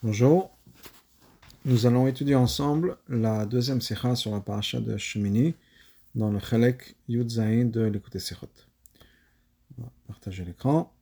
Bonjour, nous allons étudier ensemble la deuxième sikha sur la paracha de Shemini dans le Chelek Yud Zayin de l'Écoute Sichot. On va partager l'écran.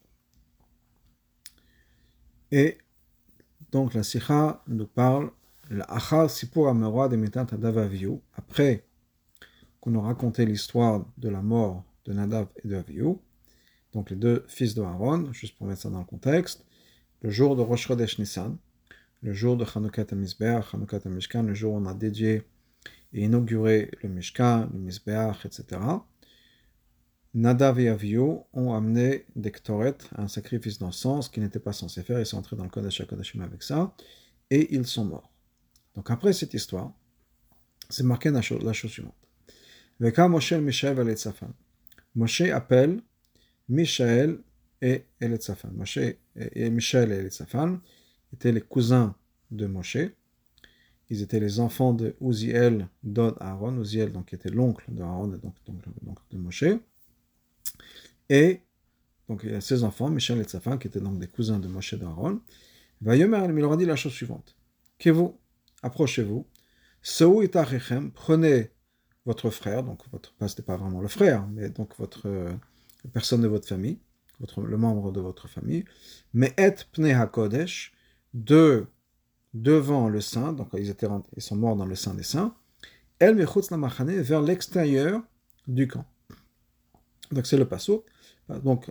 Et donc la sikha nous parle l'achar sipur ameroi de mitat Nadav Avihu, après qu'on a raconté l'histoire de la mort de Nadav et de Avihu, donc les deux fils de Aaron, juste pour mettre ça dans le contexte, le jour de Rosh Chodesh Nissan, le jour de Chanukot HaMizbeach, Chanukot HaMishkan, le jour où on a dédié et inauguré le Mishkan, le Mizbeach, etc. Nadav et Avihu ont amené des Ktoret, un sacrifice d'encens qu'ils n'étaient pas censés faire, ils sont entrés dans le Kodesh HaKodashim avec ça, et ils sont morts. Donc après cette histoire, c'est marqué la chose suivante. Veka Moshe Mishaël et Elitzaphan. Moshe appelle Mishaël et Elitzaphan. Mishaël et Elitzaphan étaient les cousins de Moshe. Ils étaient les enfants de Uziel, Dod Aaron. Uziel, donc, qui était l'oncle de Aaron, et donc de Moshe. Et donc il y a ses enfants, Mishaël et Elitzaphan, qui étaient donc des cousins de Moshe et d'Aaron. Vayomer, il leur a dit la chose suivante. Que vous, approchez-vous, Seu itachechem, prenez votre frère, donc c'était pas vraiment le frère, mais donc votre personne de votre famille, le membre de votre famille, mais et pnei hakodesh, devant le saint, donc ils sont morts dans le saint des saints, el mechutz lamachane, vers l'extérieur du camp. Donc c'est le pasuk. Donc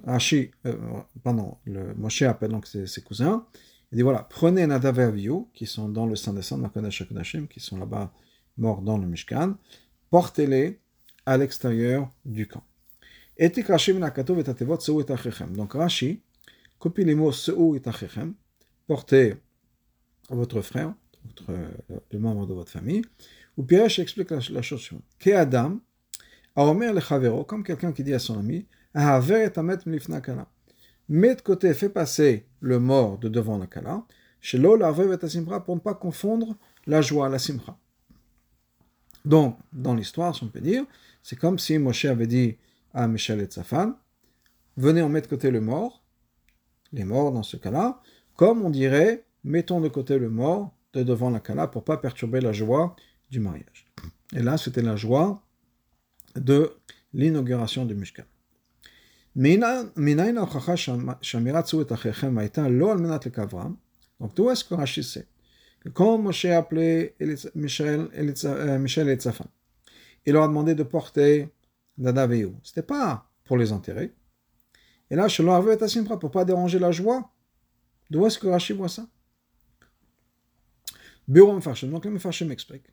le Moshe appelle donc ses cousins. Il dit voilà, prenez Nadav et Avihu, qui sont dans le saint des saints, dans le Kodesh HaKodashim, qui sont là-bas morts dans le Mishkan, portez-les à l'extérieur du camp. Etik Rashi min hakatov et atevot seu et achechem. Donc Rashi copie les mots seu et achechem, portez votre frère, le membre de votre famille, ou Piresh explique la chose suivante. Ke Adam, Aomer le Chavero, comme quelqu'un qui dit à son ami, Ahaver et amet milifna kala. Mets de côté, fais passer le mort de devant la kala, shelo l'arvev et asimcha, pour ne pas confondre la joie, la simcha. Donc, dans l'histoire, si on peut dire, c'est comme si Moshe avait dit à Mishaël et Elitzaphan, venez, on met de côté le mort, les morts dans ce cas-là, comme on dirait, mettons de côté le mort de devant la kala pour ne pas perturber la joie du mariage. Et là, c'était la joie de l'inauguration du Mishkan. Donc, d'où est-ce que Rashi sait que quand Moshe a appelé Mishaël et Elitzaphan, il leur a demandé de porter Nadav et Avihu, c'était pas pour les enterrer. Et là, pour ne pas déranger la joie. D'où est-ce que Rashi voit ça? Donc le Mefarshim explique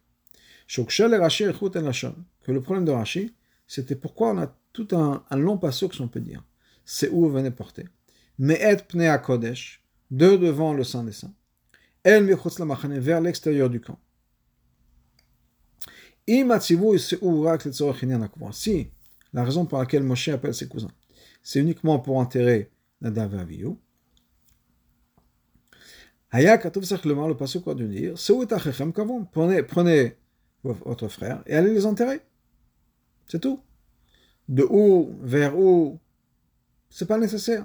que le problème de Rashi, c'était pourquoi on a tout un long pasuk, si on peut dire. C'est où venez porter. Mais et pnei hakodesh, de devant le saint des saints. El michutz lamachane, vers l'extérieur du camp. Si la raison pour laquelle Moshe appelle ses cousins, c'est uniquement pour enterrer Nadav et Avihu, le pasuk va dire, prenez votre frère et allez les enterrer. C'est tout. De où, vers où, c'est pas nécessaire.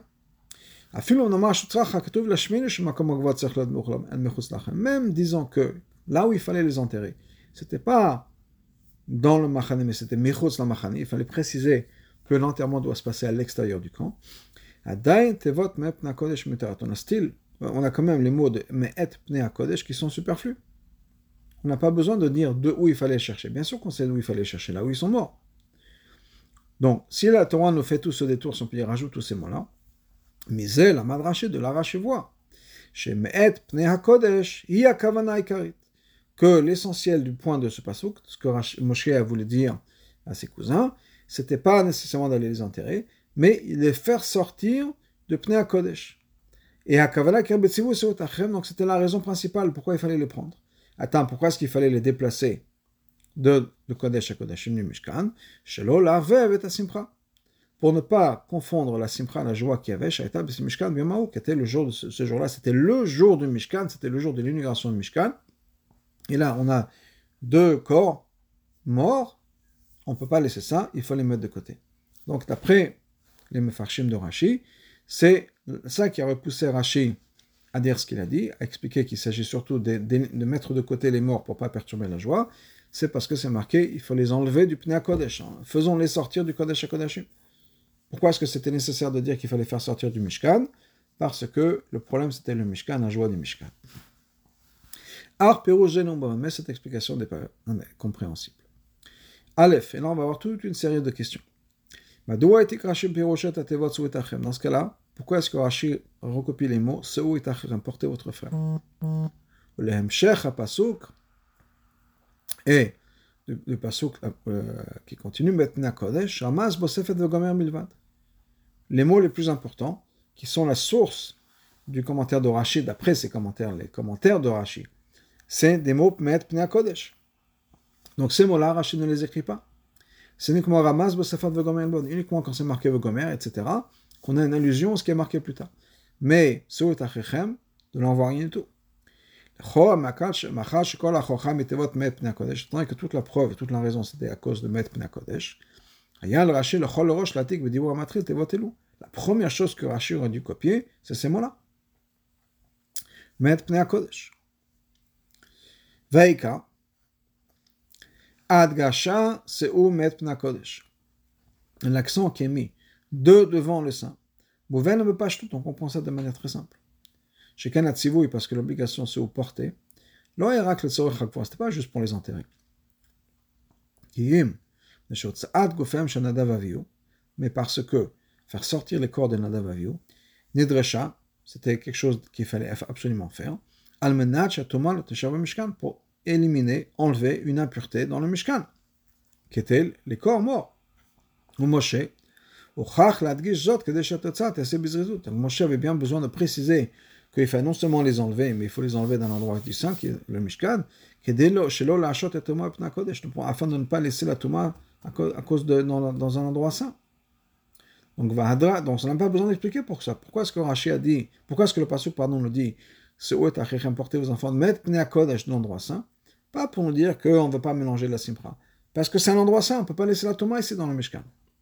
Même disons que là où il fallait les enterrer, c'était pas dans le machane, mais c'était mechutz la machane. Il fallait préciser que l'enterrement doit se passer à l'extérieur du camp. On a quand même les mots de me'et pnei hakodesh qui sont superflus. On n'a pas besoin de dire de où il fallait chercher. Bien sûr qu'on sait d'où il fallait chercher, là où ils sont morts. Donc, si la Torah nous fait tout ce détour, si on peut dire, rajoute tous ces mots-là, misé la madraché de la Rashi-voix, chez me'et pnei hakodesh, hi hakavana ikarit, que l'essentiel du point de ce pasuk, ce que Moshe a voulu dire à ses cousins, c'était pas nécessairement d'aller les enterrer, mais les faire sortir de pnei hakodesh. Et hakavana kirbetzivu seut achem, donc c'était la raison principale pourquoi il fallait les prendre. Attends, pourquoi est-ce qu'il fallait les déplacer de Kodesh HaKodashim du Mishkan, shelo l'arvev et asimcha, pour ne pas confondre la simcha, la joie qu'il y avait, shaita b'sim Mishkan b'yamahu, qui était le jour de ce jour-là, c'était le jour du Mishkan, c'était le jour de l'inauguration du Mishkan. Et là, on a deux corps morts, on ne peut pas laisser ça, il faut les mettre de côté. Donc, d'après les Mefarshim de Rashi, c'est ça qui a repoussé Rashi à dire ce qu'il a dit, à expliquer qu'il s'agit surtout de mettre de côté les morts pour ne pas perturber la joie, c'est parce que c'est marqué, il faut les enlever du Pnei Kodesh. Faisons-les sortir du Kodesh HaKodashim. Pourquoi est-ce que c'était nécessaire de dire qu'il fallait faire sortir du Mishkan? Parce que le problème c'était le Mishkan, la joie du Mishkan. Mais cette explication n'est pas compréhensible. Aleph, et là on va avoir toute une série de questions. Dans ce cas-là, pourquoi est-ce que Rashi recopie les mots Se'u et Achrim, portez votre frère? Et le pasuk qui continue, Metna Kodesh, Ramaz Bosefet Vegomer Milvad. Les mots les plus importants, qui sont la source du commentaire de Rashi, d'après ces commentaires, les commentaires de Rashi, c'est des mots Met Pnei Kodesh. Donc ces mots-là, Rashi ne les écrit pas. C'est uniquement Ramaz Bosefet Vegomer Milvad, uniquement quand c'est marqué Vegomer, etc., qu'on a une allusion à ce qui est marqué plus tard. Mais Se'u et Achrim, de l'envoie rien du tout. Étant donné que toute la preuve, toute la raison, c'était à cause de Met Pnei Kodesh, la première chose que Rashi aurait dû copier, c'est ces mots-là. Met Pnei Kodesh. Veika, Adgasha, Se'u Met Pnei Kodesh. L'accent qui est mis devant le sein. Bouven ne veut pas tout, on comprend ça de manière très simple. Chez Kanat Sivoui, parce que l'obligation c'est au porter, c'était pas juste pour les enterrer. Mais parce que faire sortir les corps de Nadav Avihu, Nidresha, c'était quelque chose qu'il fallait absolument faire, pour éliminer, enlever une impureté dans le Mishkan, qui étaient les corps morts. Ou Moshe, Moshe avait bien besoin de préciser qu'il fallait non seulement les enlever, mais il faut les enlever dans l'endroit du saint, qui est le Mishkan, afin de ne pas laisser la Touma à cause dans un endroit saint. Donc on n'a pas besoin d'expliquer pour ça. Pourquoi est-ce que Rashi a dit, pourquoi est-ce que le pasuk nous dit, portez vos enfants, mettre Pnei Kodesh dans l'endroit saint, pas pour nous dire qu'on ne veut pas mélanger la Simcha. Parce que c'est un endroit saint, on ne peut pas laisser la Touma ici dans le Mishkan.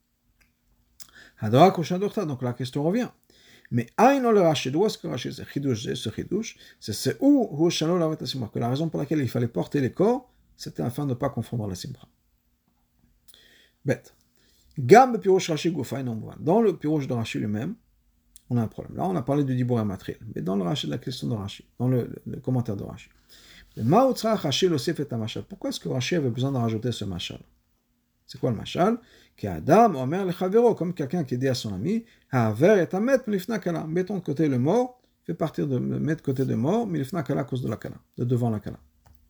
Donc la question revient. Mais Aïno le Rashi, d'où est-ce que Rashi, ce chidouche, c'est où Shalom la Simcha, que la raison pour laquelle il fallait porter les corps, c'était afin de ne pas confondre la Simcha. Bête. Gam Pirouche Rashi Goufa, dans le Pirouche de Rashi lui-même, on a un problème. Là, on a parlé du Dibur Matril, mais dans le Rashi, la question de Rashi, dans le commentaire de Rashi. Pourquoi est-ce que Rashi avait besoin de rajouter ce mashal? C'est quoi le mashal? Adam omer le comme quelqu'un qui dit à son ami, haver et amet milifna kala. Mettons de côté le mort, fait partir de mettre de côté de mort, milifna kala à cause de la kala, de devant la kala.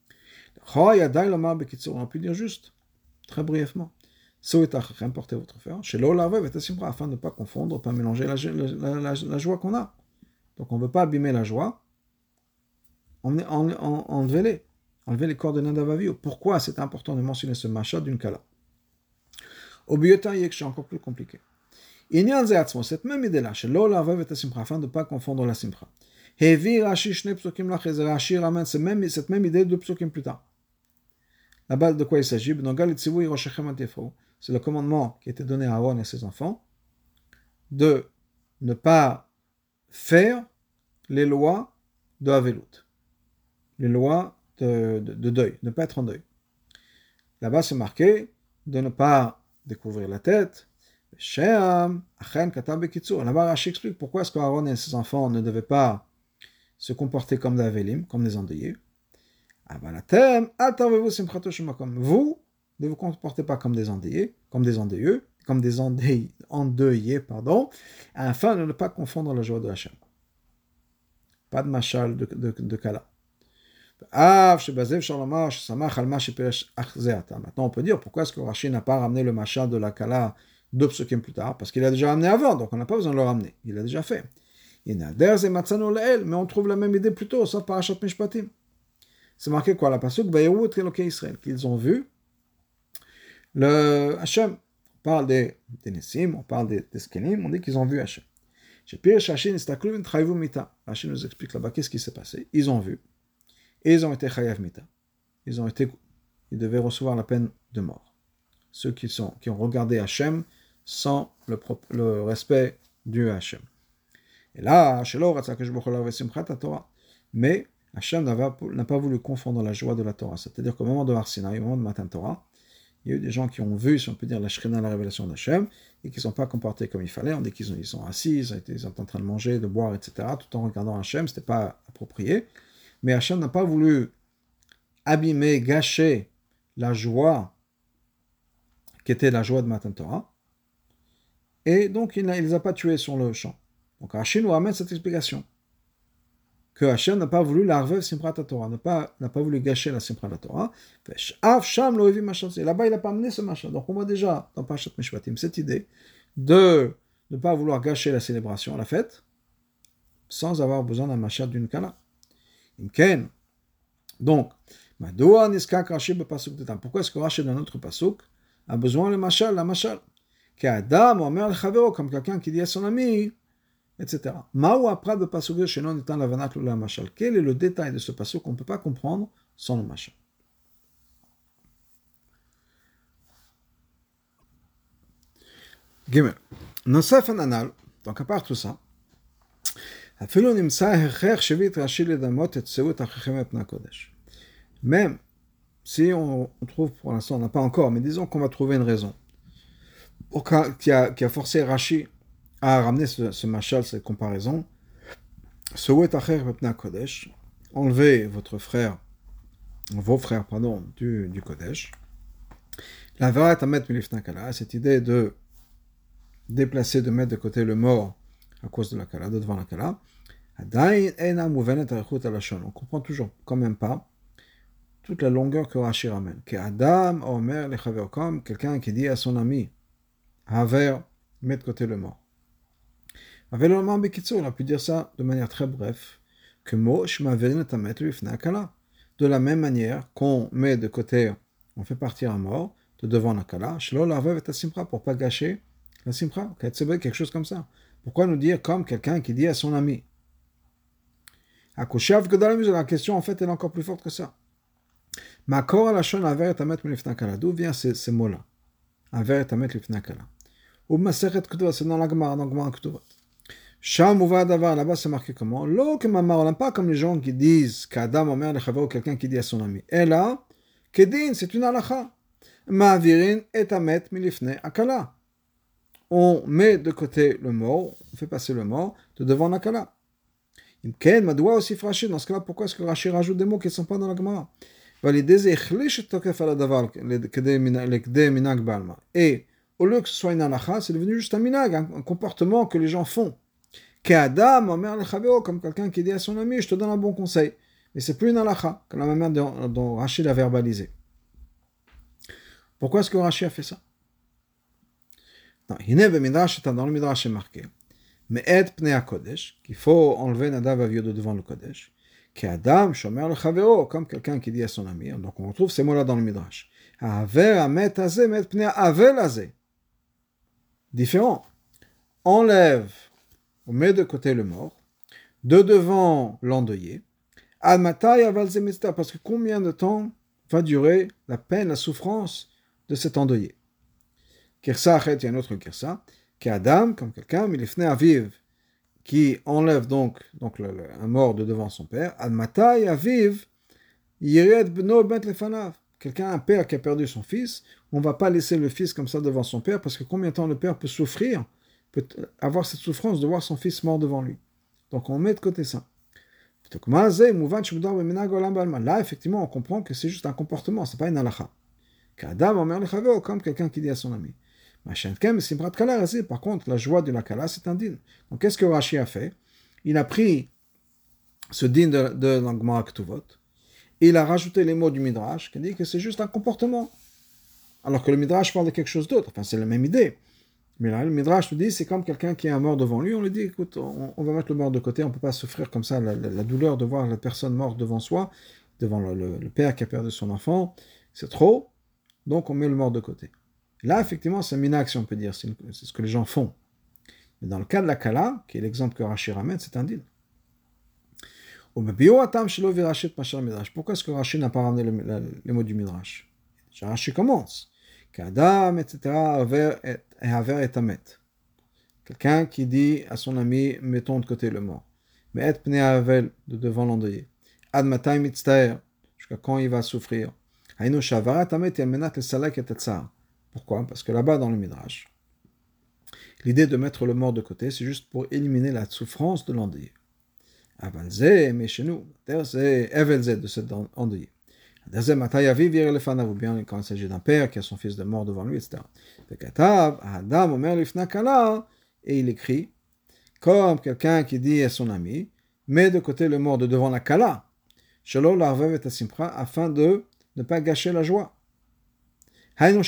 On peut dire juste, très brièvement, importez votre frère, chez l'olavev et simra, afin de ne pas confondre, pas mélanger la joie qu'on a. Donc on ne veut pas abîmer la joie, enlever les corps de Nadav Avihu. Pourquoi c'est important de mentionner ce machat d'une kala? Au biotin, c'est encore plus compliqué. Cette même idée-là, afin de ne pas confondre la simcha. Rashi ramène cette même idée de psukim plus tard. Là-bas, de quoi il s'agit? C'est le commandement qui a été donné à Aaron et à ses enfants de ne pas faire les lois de Havelut, les lois de deuil, ne pas être en deuil. Là-bas, c'est marqué de ne pas découvrir la tête. Là-bas, Rashi explique pourquoi est-ce qu'Aaron et ses enfants ne devaient pas se comporter comme des Avelim, comme des endeuillés. Vous ne vous comportez pas comme des endeuillés, afin de ne pas confondre la joie de Hachem. Pas de machal de kala. Maintenant, on peut dire pourquoi est-ce que Rashi n'a pas ramené le machal de la kala deux psukim plus tard? Parce qu'il a déjà ramené avant, donc on n'a pas besoin de le ramener. Il a déjà fait. Mais on trouve la même idée plus tôt, sauf Parashat Mishpatim. C'est marqué quoi? La pasuk Israël, qu'ils ont vu le Hachem. On parle des Nessim, on parle des Skenim, on dit qu'ils ont vu Hachem. Rashi nous explique là-bas qu'est-ce qui s'est passé. Ils ont vu. Et ils ont été chayav mita. Ils devaient recevoir la peine de mort. Ceux qui ont regardé Hachem sans le respect du Hachem. Et là, mais Hachem n'a pas voulu confondre la joie de la Torah. C'est-à-dire qu'au moment de Har Sinaï, au moment de Matan Torah, il y a eu des gens qui ont vu, si on peut dire, la Shrina, la révélation d'Hachem, et qui ne sont pas comportés comme il fallait. On dit ils sont assis, ils sont en train de manger, de boire, etc., tout en regardant Hachem. Ce n'était pas approprié. Mais Hachem n'a pas voulu abîmer, gâcher la joie qui était la joie de Matan Torah. Et donc, il ne les a pas tués sur le champ. Donc, Rashi nous ramène cette explication. Que Hachem n'a pas voulu l'arvev Simchat Torah, n'a pas voulu gâcher la Simchat Torah. Et là-bas, il n'a pas amené ce machin. Donc, on voit déjà dans Parashat Mishpatim cette idée de ne pas vouloir gâcher la célébration, la fête, sans avoir besoin d'un machin d'une kala. Imken. Donc, pourquoi est-ce que Rashi dans notre pasuk a besoin le mashal, la mashal? Qu'Adam omer le chavero, comme quelqu'un qui dit à son ami, etc. Ma'u apra de pasuk shenon etan lavanat la mashal. Quel est le détail de ce pasuk qu'on ne peut pas comprendre sans le mashal? Gimel. Nosef anal, donc à part tout ça, même si on trouve, pour l'instant on n'a pas encore, mais disons qu'on va trouver une raison qui a forcé Rashi à ramener ce mashal, cette comparaison, enlevez vos frères, du Kodesh, la Varat Amet Milifna Kala, cette idée de déplacer, de mettre de côté le mort à cause de la Kala, de devant la Kala, on comprend toujours quand même pas toute la longueur que Rashi ramène. Que Adam Omer le Chaver, comme quelqu'un qui dit à son ami, Haver, met de côté le mort. Avec le moment Bekitsu, on a pu dire ça de manière très brève, que Mosh Maverin Tamet Lifna Kala. De la même manière qu'on met de côté, on fait partir un mort de devant la Kala, Shelo Lavev et Simcha, pour pas gâcher la Simcha, quelque chose comme ça. Pourquoi nous dire comme quelqu'un qui dit à son ami? La question en fait elle est encore plus forte que ça. Makor alashon aver et tamet milifna kala. D'où vient ces mots-là? Aver et tamet milifna kala. Ou masechet ketuvot, c'est dans la Gemara, dans Gemara Ketuvot. Sham uva davar, là-bas c'est marqué comment? Lo kemamar olam, pas comme les gens qui disent qu'Adam omer lechavero, quelqu'un qui dit à son ami. Et là, kedin, c'est une halacha. Ma'avirin et tamet milifne akala. On met de côté le mort, on fait passer le mort de devant la kala. Imken, madoua aussi Rashi. Dans ce cas-là, pourquoi est-ce que Rashi rajoute des mots qui ne sont pas dans la Gemara? Et au lieu que ce soit une halacha, c'est devenu juste un minag, un comportement que les gens font. Comme quelqu'un qui dit à son ami, je te donne un bon conseil. Mais c'est plus une halacha, comme la manière dont Rashi l'a verbalisé. Pourquoi est-ce que Rashi a fait ça? Non, dans le Midrash c'est marqué. Mais et pnei kodesh, qu'il faut enlever Nadav Avihu de devant le Kodesh. Qu'Adam shomer le chavero, comme quelqu'un qui dit à son ami. Donc on retrouve ces mots-là dans le Midrash. Aver amet azeh, met pnei avel azeh. Différent. Enlève, on met de côté le mort, de devant l'endeuillé. Ad matai aval zeh mitzvah, parce que combien de temps va durer la peine, la souffrance de cet endeuillé? Kirsa achet, il y a un autre kirsa. Qu'Adam, comme quelqu'un, milifne aviv, qui enlève donc un mort de devant son père, Admatai aviv, yired bno bet lefanav. Quelqu'un, un père qui a perdu son fils, on ne va pas laisser le fils comme ça devant son père, parce que combien de temps le père peut souffrir, peut avoir cette souffrance de voir son fils mort devant lui. Donc on met de côté ça. Là, effectivement, on comprend que c'est juste un comportement, c'est pas une halacha. Qu'Adam omer lechaveo, comme quelqu'un qui dit à son ami. Par contre, la joie de la kala, c'est un din. Donc, qu'est-ce que Rashi a fait? Il a pris ce din de la Gemara Ketuvot, et il a rajouté les mots du Midrash, qui dit que c'est juste un comportement. Alors que le Midrash parle de quelque chose d'autre. Enfin, c'est la même idée. Mais là, le Midrash nous dit, c'est comme quelqu'un qui a un mort devant lui, on lui dit, écoute, on va mettre le mort de côté, on ne peut pas souffrir comme ça la douleur de voir la personne morte devant soi, devant le père qui a perdu son enfant, c'est trop, donc on met le mort de côté. Là, effectivement, c'est un minag, si on peut dire, c'est ce que les gens font. Mais dans le cas de la kala, qui est l'exemple que Rashi ramène, c'est un din. Pourquoi est-ce que Rashi n'a pas ramené les mots du Midrash? Rashi commence. Qu'Adam, etc., haver et amet. Quelqu'un qui dit à son ami, mettons de côté le mort. Mais et pnei havel, de devant l'endeuillé. Ad matay mitztaer, jusqu'à quand il va souffrir. Hainu shavarat amet yalmenat le salak et tsar. Pourquoi? Parce que là-bas dans le Midrash, l'idée de mettre le mort de côté, c'est juste pour éliminer la souffrance de l'endeuillé. Avalze, mais chez nous, c'est evelze de cet endeuillé. Ou bien quand il s'agit d'un père qui a son fils de mort devant lui, etc. Et il écrit, comme quelqu'un qui dit à son ami, mets de côté le mort de devant la kala, afin de ne pas gâcher la joie. Donc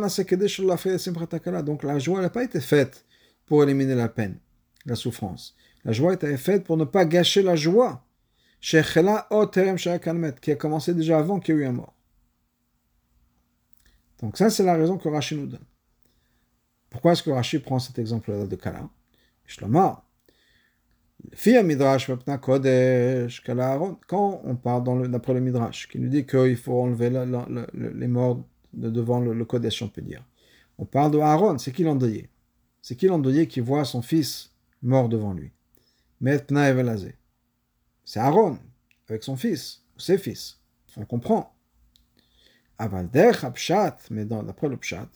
la joie n'a pas été faite pour éliminer la peine, la souffrance. La joie a été faite pour ne pas gâcher la joie, qui a commencé déjà avant qu'il y ait eu un mort. Donc ça, c'est la raison que Rashi nous donne. Pourquoi est-ce que Rashi prend cet exemple-là de Kala? Shlomar, quand on parle d'après le Midrash, qui nous dit qu'il faut enlever les morts de devant le Kodesh, on peut dire. On parle de Aaron, c'est qui l'endeuillé? C'est qui l'endeuillé qui voit son fils mort devant lui? C'est Aaron, avec son fils, ou ses fils. On comprend. Mais d'après le Pshat,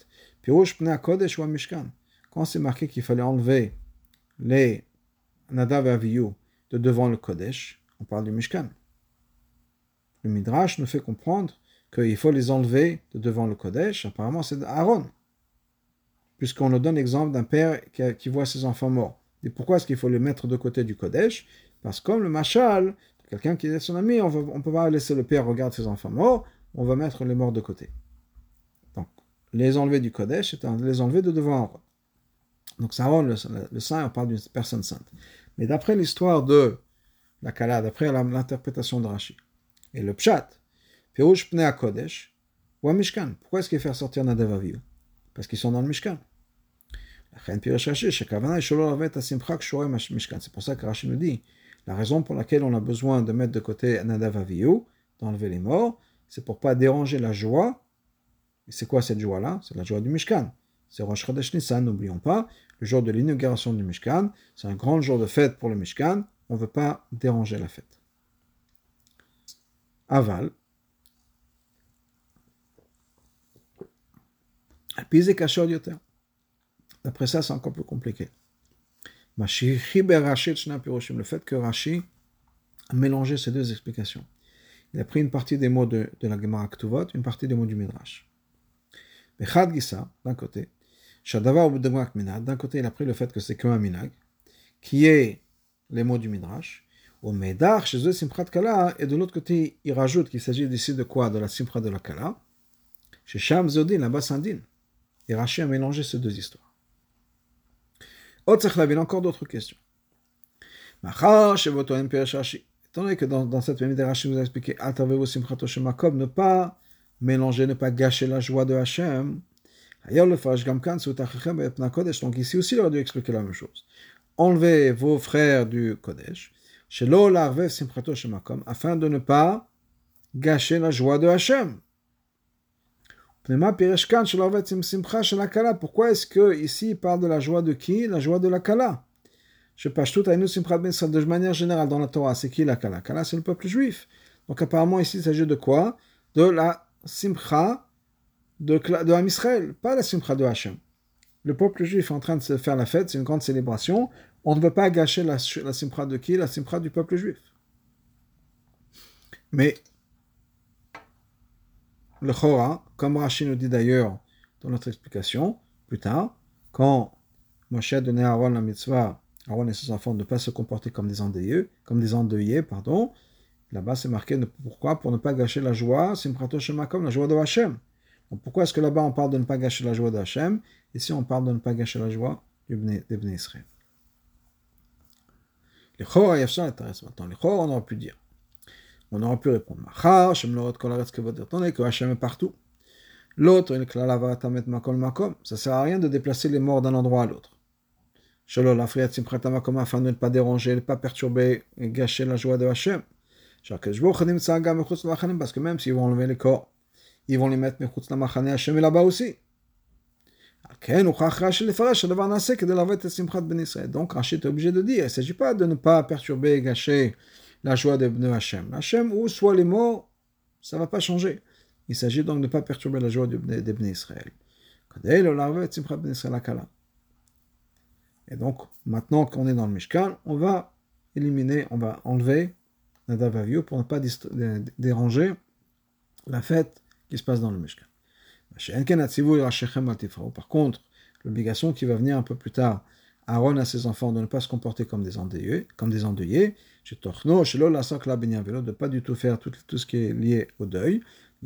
quand c'est marqué qu'il fallait enlever les Nadav et Avihu de devant le Kodesh, on parle du Mishkan. Le Midrash nous fait comprendre qu'il faut les enlever de devant le Kodesh. Apparemment, c'est Aaron, puisqu'on nous donne l'exemple d'un père qui voit ses enfants morts. Et pourquoi est-ce qu'il faut les mettre de côté du Kodesh? Parce que comme le Machal, quelqu'un qui est son ami, on ne peut pas laisser le père regarder ses enfants morts, on va mettre les morts de côté. Donc, les enlever du Kodesh, c'est les enlever de devant Aaron. Donc, c'est Aaron, le saint, on parle d'une personne sainte. Mais d'après l'histoire de la Kala, d'après l'interprétation de Rashi, et le Pshat, Pirouche Pnei HaKodesh, ou à Mishkan. Pourquoi est-ce qu'il fait sortir Nadav Avihu? Parce qu'ils sont dans le Mishkan. C'est pour ça que Rashi nous dit, la raison pour laquelle on a besoin de mettre de côté Nadav Avihu, d'enlever les morts, c'est pour ne pas déranger la joie. Et c'est quoi cette joie-là? C'est la joie du Mishkan. C'est Rosh Chodesh Nissan, n'oublions pas, le jour de l'inauguration du Mishkan. C'est un grand jour de fête pour le Mishkan. On ne veut pas déranger la fête. Aval. Après ça, c'est encore plus compliqué. Le fait que Rashi a mélangé ces deux explications. Il a pris une partie des mots de la Gemara Ktuvot, une partie des mots du Midrash. Bechad Gisa, d'un côté, Shadavar ou d'un côté, il a pris le fait que c'est qu'un minag, qui est les mots du Midrash, au Medar, chez eux, Simchat Kala, et de l'autre côté, il rajoute qu'il s'agit d'ici de quoi? De la Simchat de la Kala. Chez Sham Zodin, là-bas, Sandin. Et Rashi a mélangé ces deux histoires. Il y a encore d'autres questions. Étant donné que dans cette même idée, Rashi vous a expliqué ne pas mélanger, ne pas gâcher la joie de Hachem. Donc ici aussi, il aurait dû expliquer la même chose. Enlevez vos frères du Kodesh, afin de ne pas gâcher la joie de Hachem. Pourquoi est-ce que ici il parle de la joie de qui? La joie de la Kala. De manière générale dans la Torah, c'est qui la Kala? Kala, c'est le peuple juif. Donc apparemment ici il s'agit de quoi? De la Simcha de Am Israël, pas la Simcha de Hachem. Le peuple juif est en train de se faire la fête, c'est une grande célébration. On ne veut pas gâcher la Simcha de qui? La Simcha du peuple juif. Mais le Chora, comme Rashi nous dit d'ailleurs dans notre explication, plus tard, quand Moshe a donné à Aaron la mitzvah, Aaron et ses enfants, de ne pas se comporter comme des endeuillés, là-bas c'est marqué pourquoi? Pour ne pas gâcher la joie, Simchato Shemakom, la joie de Hachem. Donc pourquoi est-ce que là-bas on parle de ne pas gâcher la joie de Hachem? Ici on parle de ne pas gâcher la joie des Bnei Israël. Les Chora, il y a ça intéressant. Maintenant, les Chora, on aurait pu dire. On aurait pu répondre, attendez que Hachem est partout. L'autre, ça sert à rien de déplacer les morts d'un endroit à l'autre. Afin de ne pas déranger, ne pas perturber et gâcher la joie de Hachem. Parce que même s'ils vont enlever les corps, ils vont les mettre Hachem est là-bas aussi. Donc Rashi est obligé de dire, il ne s'agit pas de ne pas perturber et gâcher la joie de Hachem. Hachem, où soit les morts, ça ne va pas changer. Il s'agit donc de ne pas perturber la joie des Bnei Israël. Et donc, maintenant qu'on est dans le Mishkan, on va enlever Nadav Avihu pour ne pas déranger la fête qui se passe dans le Mishkan. Par contre, l'obligation qui va venir un peu plus tard, Aaron à ses enfants de ne pas se comporter comme des endeuillés, de ne pas du tout faire tout ce qui est lié au deuil.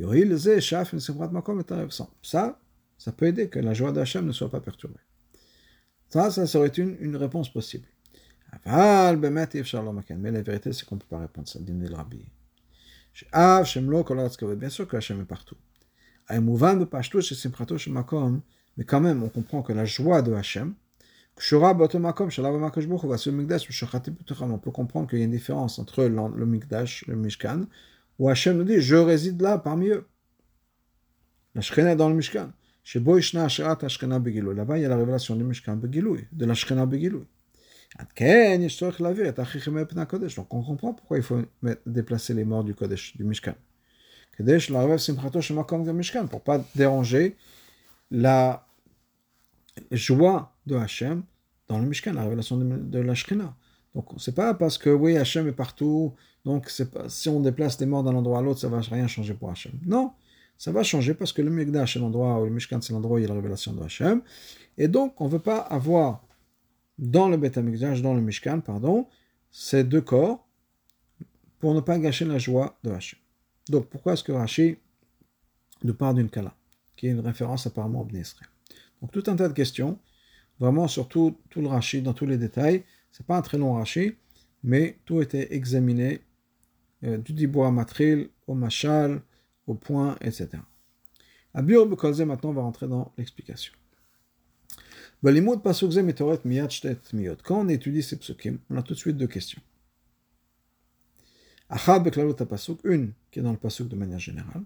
Ça peut aider que la joie d'Hachem ne soit pas perturbée. Ça serait une réponse possible. Mais la vérité, c'est qu'on ne peut pas répondre ça. Bien sûr que Hachem est partout. Mais quand même, on comprend que la joie de Hachem, on peut comprendre qu'il y a une différence entre le Mikdash, le Mishkan, où Hachem nous dit, je réside là parmi eux. La Shekhinah est dans le Mishkan. Là-bas, il y a la révélation du Mishkan Begiloui, de la Shekhinah Begiloui. Donc on comprend pourquoi il faut déplacer les morts du Kodesh, du Mishkan. Pour ne pas déranger la joie de Hachem dans le Mishkan, la révélation de la Shekhinah. Donc c'est pas parce que oui, Hachem est partout, donc si on déplace les morts d'un endroit à l'autre, ça va rien changer pour Hachem. Non, ça va changer parce que le Mikdash c'est l'endroit, ou le Mishkan c'est l'endroit où il y a la révélation de Hachem. Et donc on ne veut pas avoir dans le Beth HaMikdash, dans le Mishkan, ces deux corps pour ne pas gâcher la joie de Hachem. Donc pourquoi est-ce que Rashi nous parle d'une Kala, qui est une référence apparemment au Bnei Israël. Donc tout un tas de questions, vraiment sur tout le Rashi, dans tous les détails. C'est pas un très long Rashi, mais tout était examiné du Dibur Matril au Mashal, au point, etc. À Biur Bekolze, maintenant on va rentrer dans l'explication. Quand on étudie ces psukim, on a tout de suite deux questions. Une qui est dans le pasuk de manière générale,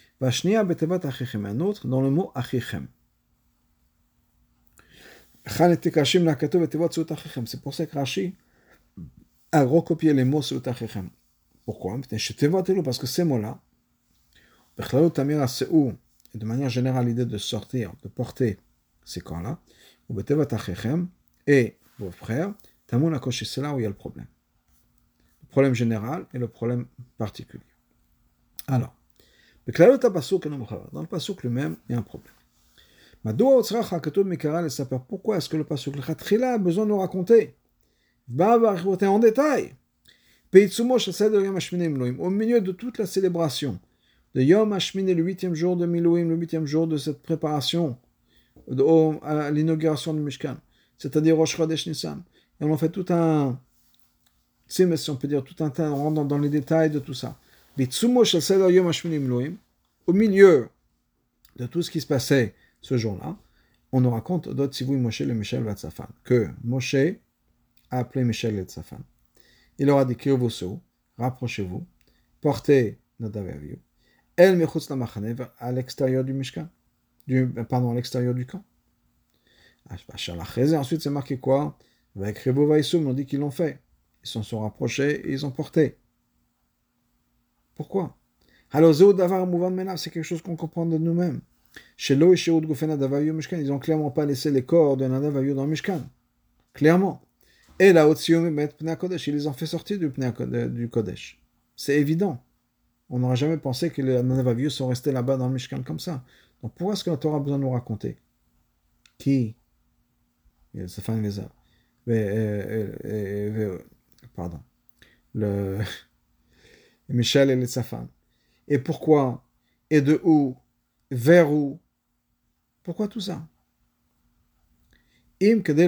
un autre dans le mot achichem. C'est pour ça que Rashi a recopié les mots seut achichem. Pourquoi? Parce que ces mots-là, et de manière générale l'idée de sortir, de porter ces corps-là, et vos frères, c'est là où il y a le problème. Le problème général et le problème particulier. Alors, dans le pasuk lui-même, il y a un problème. Pourquoi est-ce que le pasuk a besoin de nous raconter en détail au milieu de toute la célébration de Yom Hashmini, le 8e jour de Milouim, le 8e jour de cette préparation à l'inauguration du Mishkan, c'est-à-dire Rosh Chodesh Nissan. Et on en fait tout un, si on peut dire, tout un tas, on rentre dans les détails de tout ça. Au milieu de tout ce qui se passait ce jour-là, on nous raconte d'autres Tzivui Moshe le Michel Vatzafan, que Moshe a appelé Michel le Tzafan. Il leur a dit Kirvosou, rapprochez-vous, portez Nadav Avihu, El Mechutz Lamachane, à l'extérieur du Mishkan, à l'extérieur du camp. Ensuite, c'est marqué quoi? Avec Rebo Vaïsoum, on dit qu'ils l'ont fait. Ils s'en sont rapprochés et ils ont porté. Pourquoi? Alors, c'est quelque chose qu'on comprend de nous-mêmes. Ils n'ont clairement pas laissé les corps de Nadav Avihu dans le Mishkan. Clairement. Et là, ils les ont fait sortir du Kodesh. C'est évident. On n'aurait jamais pensé que les Nadav Avihu sont restés là-bas dans le Mishkan comme ça. Donc pourquoi est-ce que la Torah a besoin de nous raconter? Qui? Pardon. Le Michel et les Tzafan. Et pourquoi? Et de où? Vers où? Pourquoi tout ça? C'était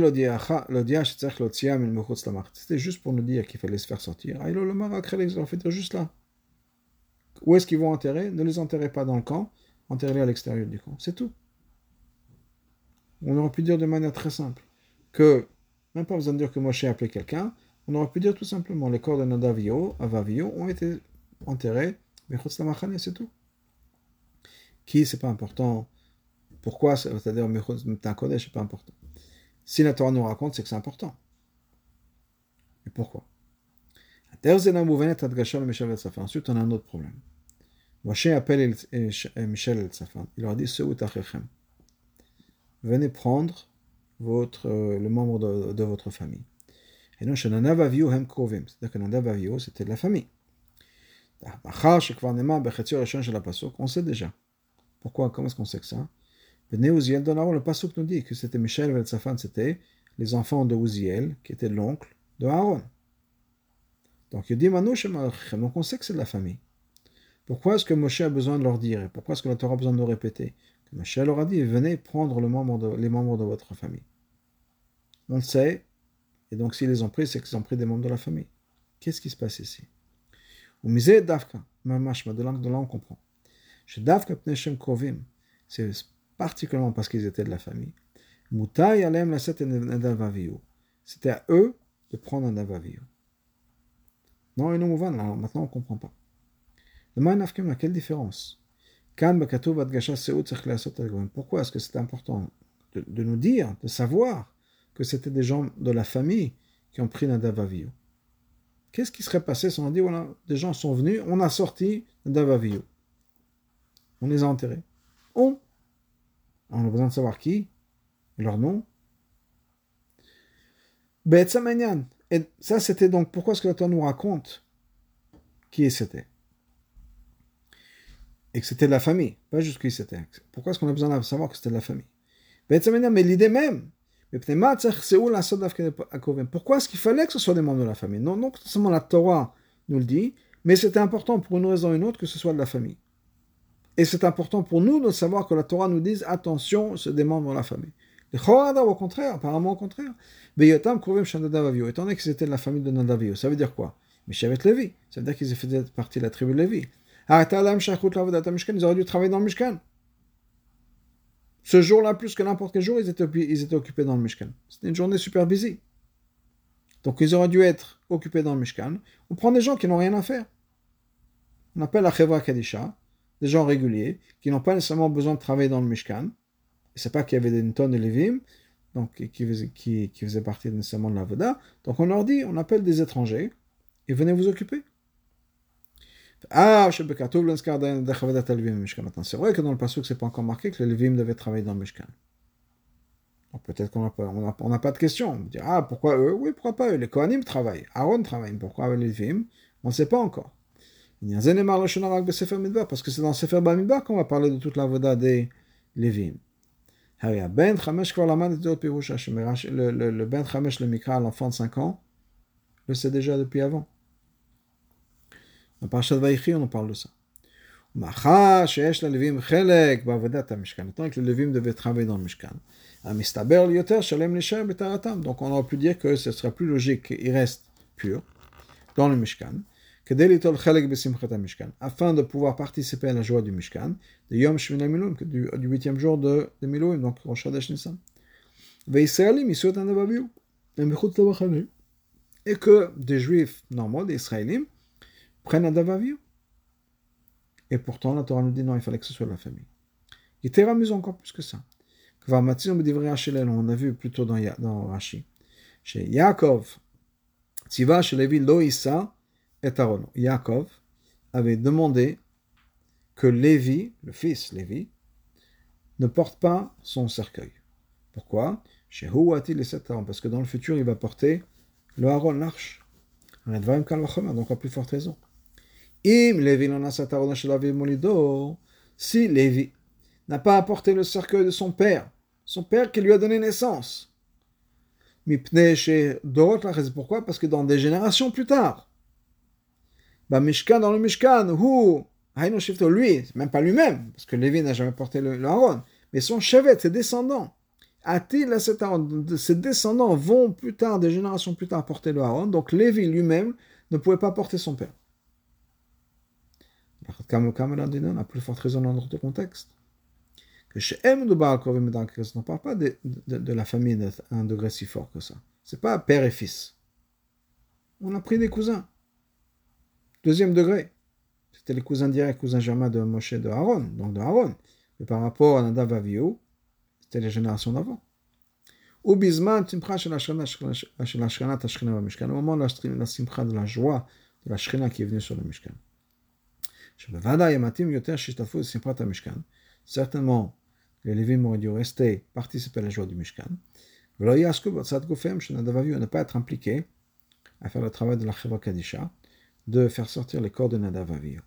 juste pour nous dire qu'il fallait se faire sortir. On fait dire juste là. Où est-ce qu'ils vont enterrer? Ne les enterrez pas dans le camp, enterrez-les à l'extérieur du camp. C'est tout. On aurait pu dire de manière très simple que, même pas besoin de dire que Moshe a appelé quelqu'un, on aurait pu dire tout simplement les corps de Nadav Avihu ont été enterrés, mais c'est tout. Qui, c'est pas important. Pourquoi? C'est-à-dire, Meta Kodesh, c'est pas important. Si la Torah nous raconte, c'est que c'est important. Et pourquoi? Ensuite, on a un autre problème. Moshe appelle Michel et Tzafan. Il leur dit, venez prendre le membre de votre famille. Et non, c'est-à-dire que Nadav Avihu, c'était de la famille. On sait déjà. Pourquoi? Comment est-ce qu'on sait que ça? Le pasuk nous dit que c'était Michel et Tzafan, c'était les enfants de Uziel, qui était l'oncle de Aaron. Donc il dit donc on sait que c'est de la famille. Pourquoi est-ce que Moshe a besoin de leur dire? Et pourquoi est-ce que la Torah a besoin de nous répéter? Que Moshe leur a dit, venez prendre les membres de votre famille. On le sait, et donc s'ils les ont pris, c'est qu'ils ont pris des membres de la famille. Qu'est-ce qui se passe ici? De là on comprend. Chez Davka Pneshem Krovim, c'est particulièrement parce qu'ils étaient de la famille. Mutai alem la set Nadav Avihu. C'était à eux de prendre un Nadav Avihu. Non, et non, maintenant on ne comprend pas. Le quelle différence? Pourquoi est-ce que c'est important de nous dire, de savoir que c'était des gens de la famille qui ont pris Nadav Avihu? Qu'est-ce qui serait passé si on a dit, voilà, des gens sont venus, on a sorti Nadav Avihu, on les a enterrés. On a besoin de savoir qui, et leur nom. Et ça, c'était donc, pourquoi est-ce que la Torah nous raconte qui c'était? Et que c'était de la famille, pas juste qui c'était. Pourquoi est-ce qu'on a besoin de savoir que c'était de la famille? Mais l'idée même, pourquoi est-ce qu'il fallait que ce soit des membres de la famille? Non seulement la Torah nous le dit, mais c'était important pour une raison ou une autre que ce soit de la famille. Et c'est important pour nous de savoir que la Torah nous dise attention, c'est des membres de la famille. Au contraire, apparemment au contraire. Étant donné qu'ils étaient de la famille de Nadav Avihu, ça veut dire quoi? Mishavet Lévi, ça veut dire qu'ils faisaient partie de la tribu de Lévi. Ils auraient dû travailler dans le Mishkan. Ce jour-là, plus que n'importe quel jour, ils étaient occupés dans le Mishkan. C'était une journée super busy. Donc ils auraient dû être occupés dans le Mishkan. On prend des gens qui n'ont rien à faire. On appelle la Chevra Kadisha, des gens réguliers, qui n'ont pas nécessairement besoin de travailler dans le Mishkan. Et c'est pas qu'il y avait une tonne de Lévim, donc qui faisaient partie nécessairement de la Voda. Donc on leur dit, on appelle des étrangers, et venez vous occuper. C'est vrai que dans le passage, c'est pas encore marqué que les Lévim devaient travailler dans le Mishkan. Donc peut-être qu'on n'a pas de question. On va dire, pourquoi eux? Oui, pourquoi pas eux? Les Kohanim travaillent, Aaron travaille, pourquoi les Lévim? On ne sait pas encore. Parce que c'est dans Sefer Bamidbar qu'on va parler de toute la voda des Lévim. Le Ben Chamesh, le Mikra, l'enfant de 5 ans, le sait déjà depuis avant. Dans Parashat Vaïchi, on en parle de ça. Étant que les Lévim devaient travailler dans le Mishkan. Donc on aurait pu dire que ce serait plus logique qu'ils restent purs dans le Mishkan, afin de pouvoir participer à la joie du Mishkan, de Yom Shmini Miluim, du 8e jour de Miluim, donc Rosh Chodesh Nissan. Et que des Juifs normaux, des Israélites, prennent un Nadav Avihu. Et pourtant, la Torah nous dit non, il fallait que ce soit la famille. Il était amusant encore plus que ça. On a vu plutôt dans Rashi. Chez Yaakov, Tziva chez Lévi lo Issa et Aaron. Yaakov avait demandé que Lévi, le fils Lévi, ne porte pas son cercueil. Pourquoi? Chez Huati les 7 Aaron. Parce que dans le futur, il va porter le Aaron, l'arche. Donc à plus forte raison. Si Lévi n'a pas apporté le cercueil de son père qui lui a donné naissance, pourquoi? Parce que dans des générations plus tard, dans le Mishkan, lui, même pas lui-même, parce que Lévi n'a jamais porté le Aaron, mais son chevet, ses descendants, ses descendants vont plus tard, des générations plus tard, porter le Aaron, donc Lévi lui-même ne pouvait pas porter son père. On a plus forte raison dans notre contexte. Que chez M, on ne parle pas de la famille d'un degré si fort que ça. C'est pas père et fils. On a pris des cousins. 2e degré. C'était les cousins directs, cousins germains de Moshe de Aaron, donc de Aaron. Mais par rapport à Nadav Avihu, C'était les générations d'avant. Ou Bisman, Simcha shel Ashkenat Ashkenat Mishkan. Au moment de la Simcha, de la joie de la Shekhinah qui est venue sur le Mishkan. Certainement, les Lévim auraient dû rester participer à la joie du Mishkan. On ne pas être impliqué à faire le travail de la Cheva Kadisha, de faire sortir les corps de Nadav Avihu.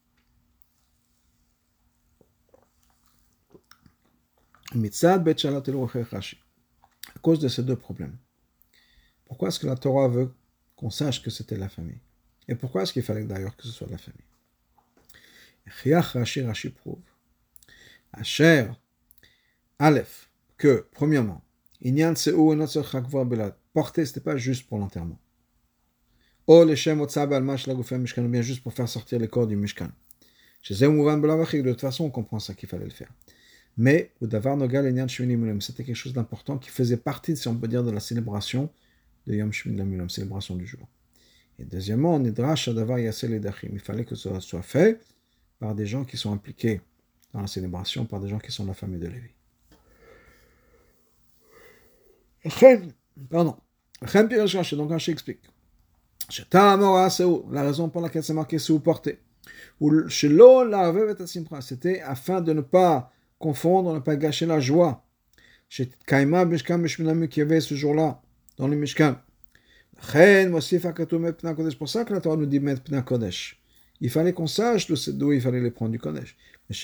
À cause de ces deux problèmes. Pourquoi est-ce que la Torah veut qu'on sache que c'était la famille? Et pourquoi est-ce qu'il fallait d'ailleurs que ce soit la famille? Rashi prouve. Asher, Aleph, que, premièrement, Inyan Se'u et Notzor Chakvar Belad, porter, c'était pas juste pour l'enterrement. O Leshem Otzab Almash Lagufem Mishkan, ou bien juste pour faire sortir les corps du Mishkan. Chez Zemouvan Belavachik, de toute façon, on comprend ça qu'il fallait le faire. Mais, Udavar Nogal Inyan Shmini Mulam, c'était quelque chose d'important qui faisait partie, si on peut dire, de la célébration de Yom Shmini Mulam, célébration du jour. Et deuxièmement, Nidrash Adavar Yasel Edachim, il fallait que ça soit fait par des gens qui sont impliqués dans la célébration, par des gens qui sont de la famille de Lévi. Pardon. Donc Rashi explique. La raison pour laquelle c'est marqué c'est porter. C'était afin de ne pas confondre, ne pas gâcher la joie. Qui y avait ce jour-là dans le Mishkan. C'est pour ça que la Torah nous dit mettre Pna Kodesh. Il fallait qu'on sache d'où il fallait les prendre du Kodesh. Parce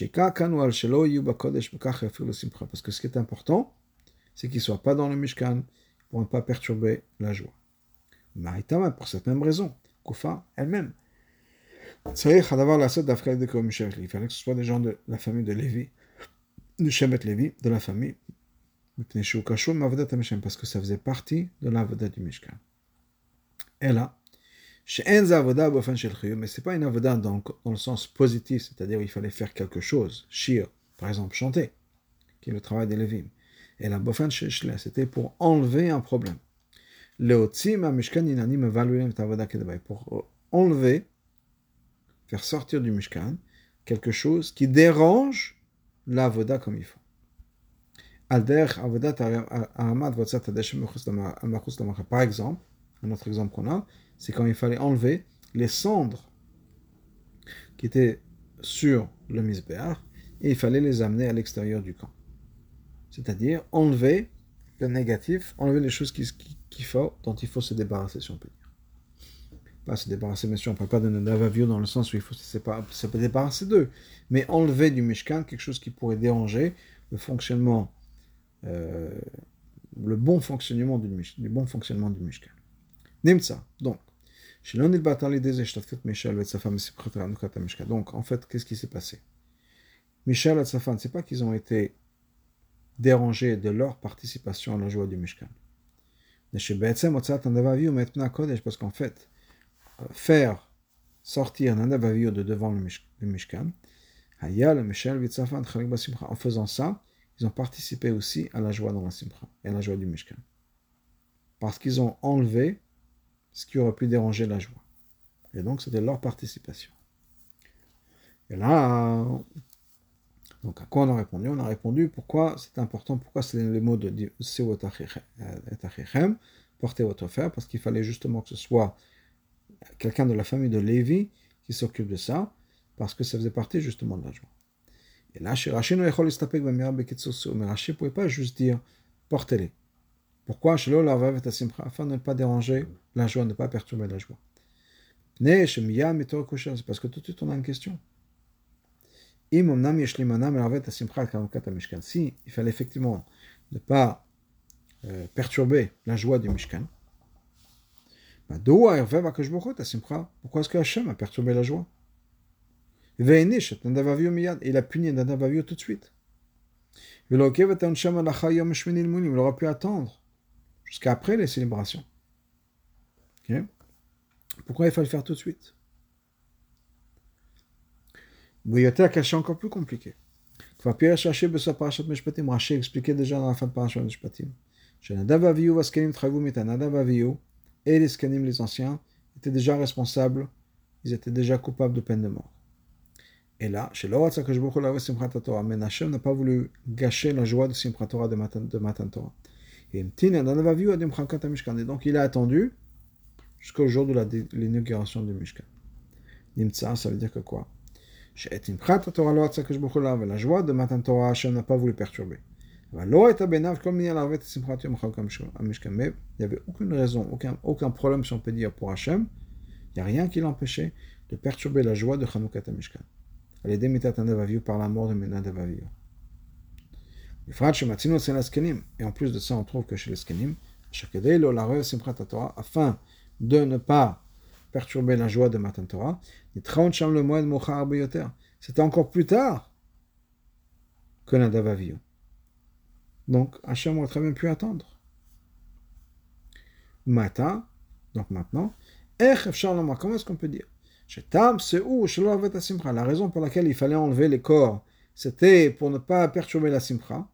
que ce qui est important, c'est qu'ils ne soient pas dans le Mishkan pour ne pas perturber la joie. Maritama, pour cette même raison, Koufa elle-même. Il fallait que ce soit des gens de la famille de Lévi, de Shemet Lévi, de la famille, parce que ça faisait partie de l'avoda du Mishkan. Et là, mais ce n'est pas une avoda dans le sens positif, c'est-à-dire il fallait faire quelque chose, shir, par exemple chanter, qui est le travail des Lévim. Et la bofan sheshla, c'était pour enlever un problème. Pour enlever, faire sortir du Mishkan quelque chose qui dérange l'avoda comme il faut. Par exemple, un autre exemple qu'on a, c'est quand il fallait enlever les cendres qui étaient sur le misbéach et il fallait les amener à l'extérieur du camp. C'est-à-dire enlever le négatif, enlever les choses dont il faut se débarrasser, si on peut dire. Pas se débarrasser, bien sûr, on ne parle pas de Nadav Avihu dans le sens où il faut se débarrasser d'eux, mais enlever du Mishkan quelque chose qui pourrait déranger le fonctionnement, le bon fonctionnement du Mishkan. Nimtza, donc, donc, en fait, qu'est-ce qui s'est passé? Michel et Safan, c'est pas qu'ils ont été dérangés de leur participation à la joie du Mishkan. Parce qu'en fait, faire sortir Nadav Avihu de devant le Mishkan, en faisant ça, ils ont participé aussi à la joie dans la Simcha et à la joie du Mishkan. Parce qu'ils ont enlevé ce qui aurait pu déranger la joie. Et donc, c'était leur participation. Et là, donc à quoi on a répondu? On a répondu pourquoi c'est important, pourquoi c'est les mots de Seu et Achichem, porter votre frère, parce qu'il fallait justement que ce soit quelqu'un de la famille de Lévi qui s'occupe de ça, parce que ça faisait partie justement de la joie. Et là, chez Rashi, mais Rashi ne pouvait pas juste dire portez-les. Pourquoi? Afin de ne pas déranger la joie, ne pas perturber la joie. C'est parce que tout de suite on a une question. Si il fallait effectivement ne pas perturber la joie du Mishkan, pourquoi est-ce que Hachem a perturbé la joie? Il a puni Nadav Avihu tout de suite. Il aurait pu attendre jusqu'à après les célébrations. Okay? Pourquoi il fallait le faire tout de suite? Il y a un cas encore plus compliqué. Rashi expliquait déjà dans la fin de Parashat Mishpatim. Nadav Avihu et les Skanim, les anciens, étaient déjà responsables, ils étaient déjà coupables de peine de mort. Et là, chez l'Oratza Kajboku la Simchat Torah, mais Hachem n'a pas voulu gâcher la joie de Simchat Torah de Matan Torah. Et donc il a attendu jusqu'au jour de l'inauguration du Mishkan. Nimtsa, ça veut dire que quoi? Chez Simchat Torah l'Oratza Kajboku la, la joie de Matan Torah, Hachem n'a pas voulu perturber. Mais il n'y avait aucune raison, aucun problème, si on peut dire, pour Hachem. Il n'y a rien qui l'empêchait de perturber la joie de Chanukah Mishkan. Elle est démitat Nadav Avihu par la mort de Nadav Avihu. Et en plus de ça, on trouve que chez les Skenim, afin de ne pas perturber la joie de Matan Torah, c'était encore plus tard que Nadav Avihu. Donc, Hachem aurait très bien pu attendre. Mata, donc maintenant, comment est-ce qu'on peut dire? La raison pour laquelle il fallait enlever les corps, c'était pour ne pas perturber la simcha.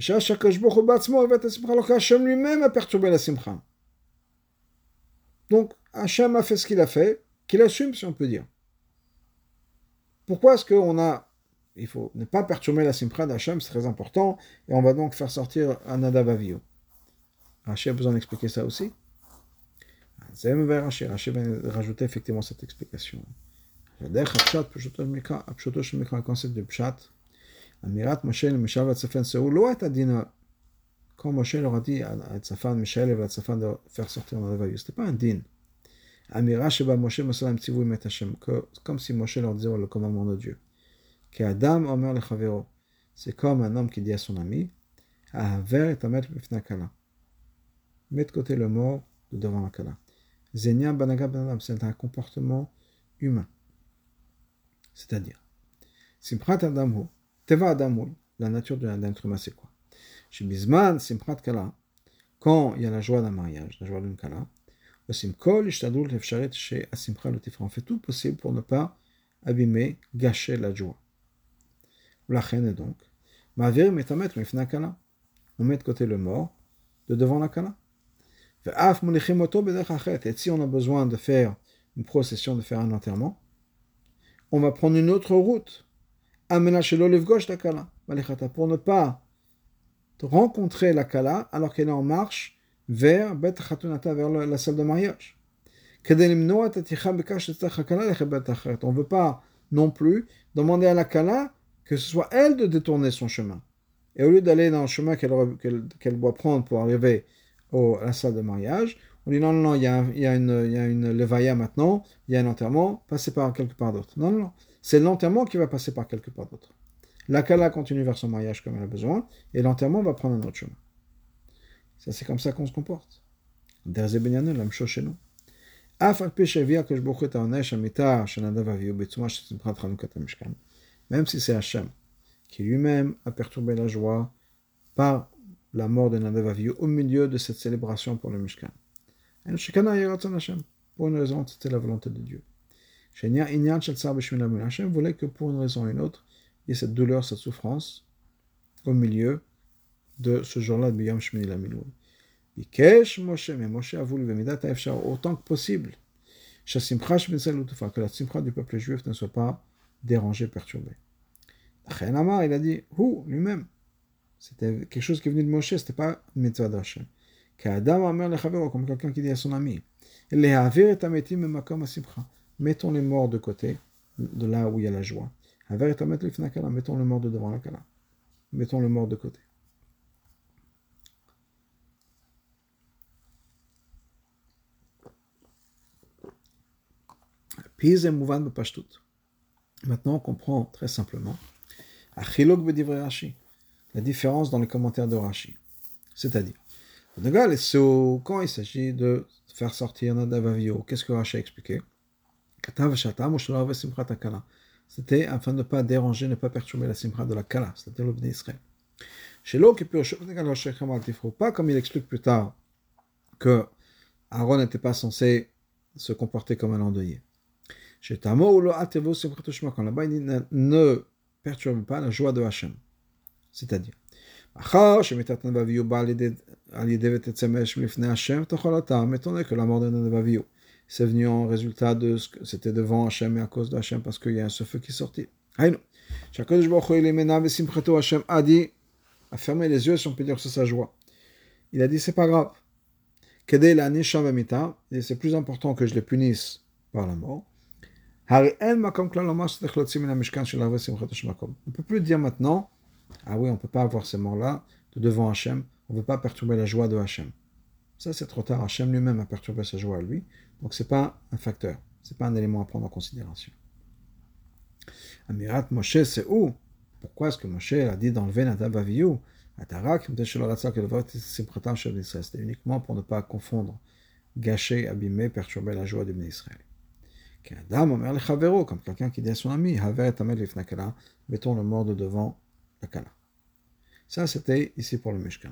Hachem lui-même a perturbé la simcha. Donc, Hachem a fait ce qu'il a fait, qu'il assume, si on peut dire. Pourquoi est-ce qu'on a... Il faut ne pas perturber la simcha d'Hachem, c'est très important, et on va donc faire sortir un Nadav Avihu. Hachem a besoin d'expliquer ça aussi. Hachem va rajouter effectivement cette explication. Le concept de Pshat, Amirat Moshe le Mishael Vatzafan Seou, lo et adina. Quand Moshe leur a dit à Tzafan, Mishael et Vatzafan de faire sortir Nadav Avihu, c'était pas un din. Amira Sheba Moshe Masalam Tzivou Met Hashem, comme si Moshe leur disait le commandement de Dieu. Qu'Adam Omer le Chavero, c'est comme un homme qui dit à son ami, Ahaver et Amet Bifna Kala. Mets de côté le mort de devant la Kala. Zenia Banaga Banadam, c'est un comportement humain. C'est-à-dire, Simchat Adamhu, Teva Adamhu, la nature d'un être humain, c'est quoi? Chez Bisman, Simchat Kala, quand il y a la joie d'un mariage, la joie d'une Kala, Simkol, Ishtadul, Efsharet, chez Asimcha, le Tifra, on fait tout possible pour ne pas abîmer, gâcher la joie. La reine est donc, Mavir Metamet, Mifna Kala, on met de côté le mort de devant la Kala. Et si on a besoin de faire une procession, de faire un enterrement, on va prendre une autre route. Pour ne pas rencontrer la Kala alors qu'elle est en marche vers Bet Khatunata, vers la salle de mariage. On ne veut pas non plus demander à la Kala que ce soit elle de détourner son chemin. Et au lieu d'aller dans le chemin qu'elle doit prendre pour arriver à la salle de mariage, on dit non, il y a une levaya maintenant, il y a un enterrement, passez par quelque part d'autre. Non, c'est l'enterrement qui va passer par quelque part d'autre. La Kala continue vers son mariage comme elle a besoin, et l'enterrement va prendre un autre chemin. Ça, c'est comme ça qu'on se comporte. Derze Benyanou, la même chose chez nous. Même si c'est Hachem qui lui-même a perturbé la joie par la mort de Nadav Avihu au milieu de cette célébration pour le Mishkan. Pour une raison, c'était la volonté de Dieu. Hachem voulait que pour une raison ou une autre, il y ait cette douleur, cette souffrance au milieu de ce jour-là de Biyam Shmini Lamilou. Mais Moshe a voulu autant que possible que la simcha du peuple juif ne soit pas dérangée, perturbée. Il a dit, lui-même, c'était quelque chose qui est venu de Moshe, c'était pas une mitzvah d'Hachem. Comme quelqu'un qui dit à son ami, mettons les morts de côté, de là où il y a la joie. Mettons le mort de devant la kala. Mettons le mort de côté. Maintenant, on comprend très simplement la différence dans les commentaires de Rashi. C'est-à-dire, quand il s'agit de faire sortir Nadav Avihu, qu'est-ce que Rashi a expliqué? C'était afin de ne pas déranger, ne pas perturber la simcha de la Kala, c'est-à-dire le Bnei Israël. Pas comme il explique plus tard que Aaron n'était pas censé se comporter comme un endeuillé. Quand là-bas, il dit ne perturbe pas la joie de Hachem. C'est-à-dire, étant donné que la mort de Nadav Avihu, c'est venu en résultat de ce que c'était devant Hachem et à cause de Hachem parce qu'il y a ce feu qui est sorti. Haïnou. Shakadosh Baruch Hu Ilimena Vesimchato Hashem a dit, a fermé les yeux si on peut dire que c'est sa joie. Il a dit, c'est pas grave. Kedei la nisha v'mita, et c'est plus important que je les punisse par la mort. On ne peut plus dire maintenant, ah oui, on ne peut pas avoir ces morts-là de devant Hachem, on ne veut pas perturber la joie de Hachem. Ça, c'est trop tard. Hachem lui-même a perturbé sa joie à lui, donc ce n'est pas un facteur, ce n'est pas un élément à prendre en considération. Amirat Moshe, c'est où? Pourquoi est-ce que Moshe a dit d'enlever Nadav Avihu? C'était uniquement pour ne pas confondre, gâcher, abîmer, perturber la joie du béni Israël. Comme quelqu'un qui dit à son ami, mettons le mort de devant la Kala. Ça, c'était ici pour le Mishkan.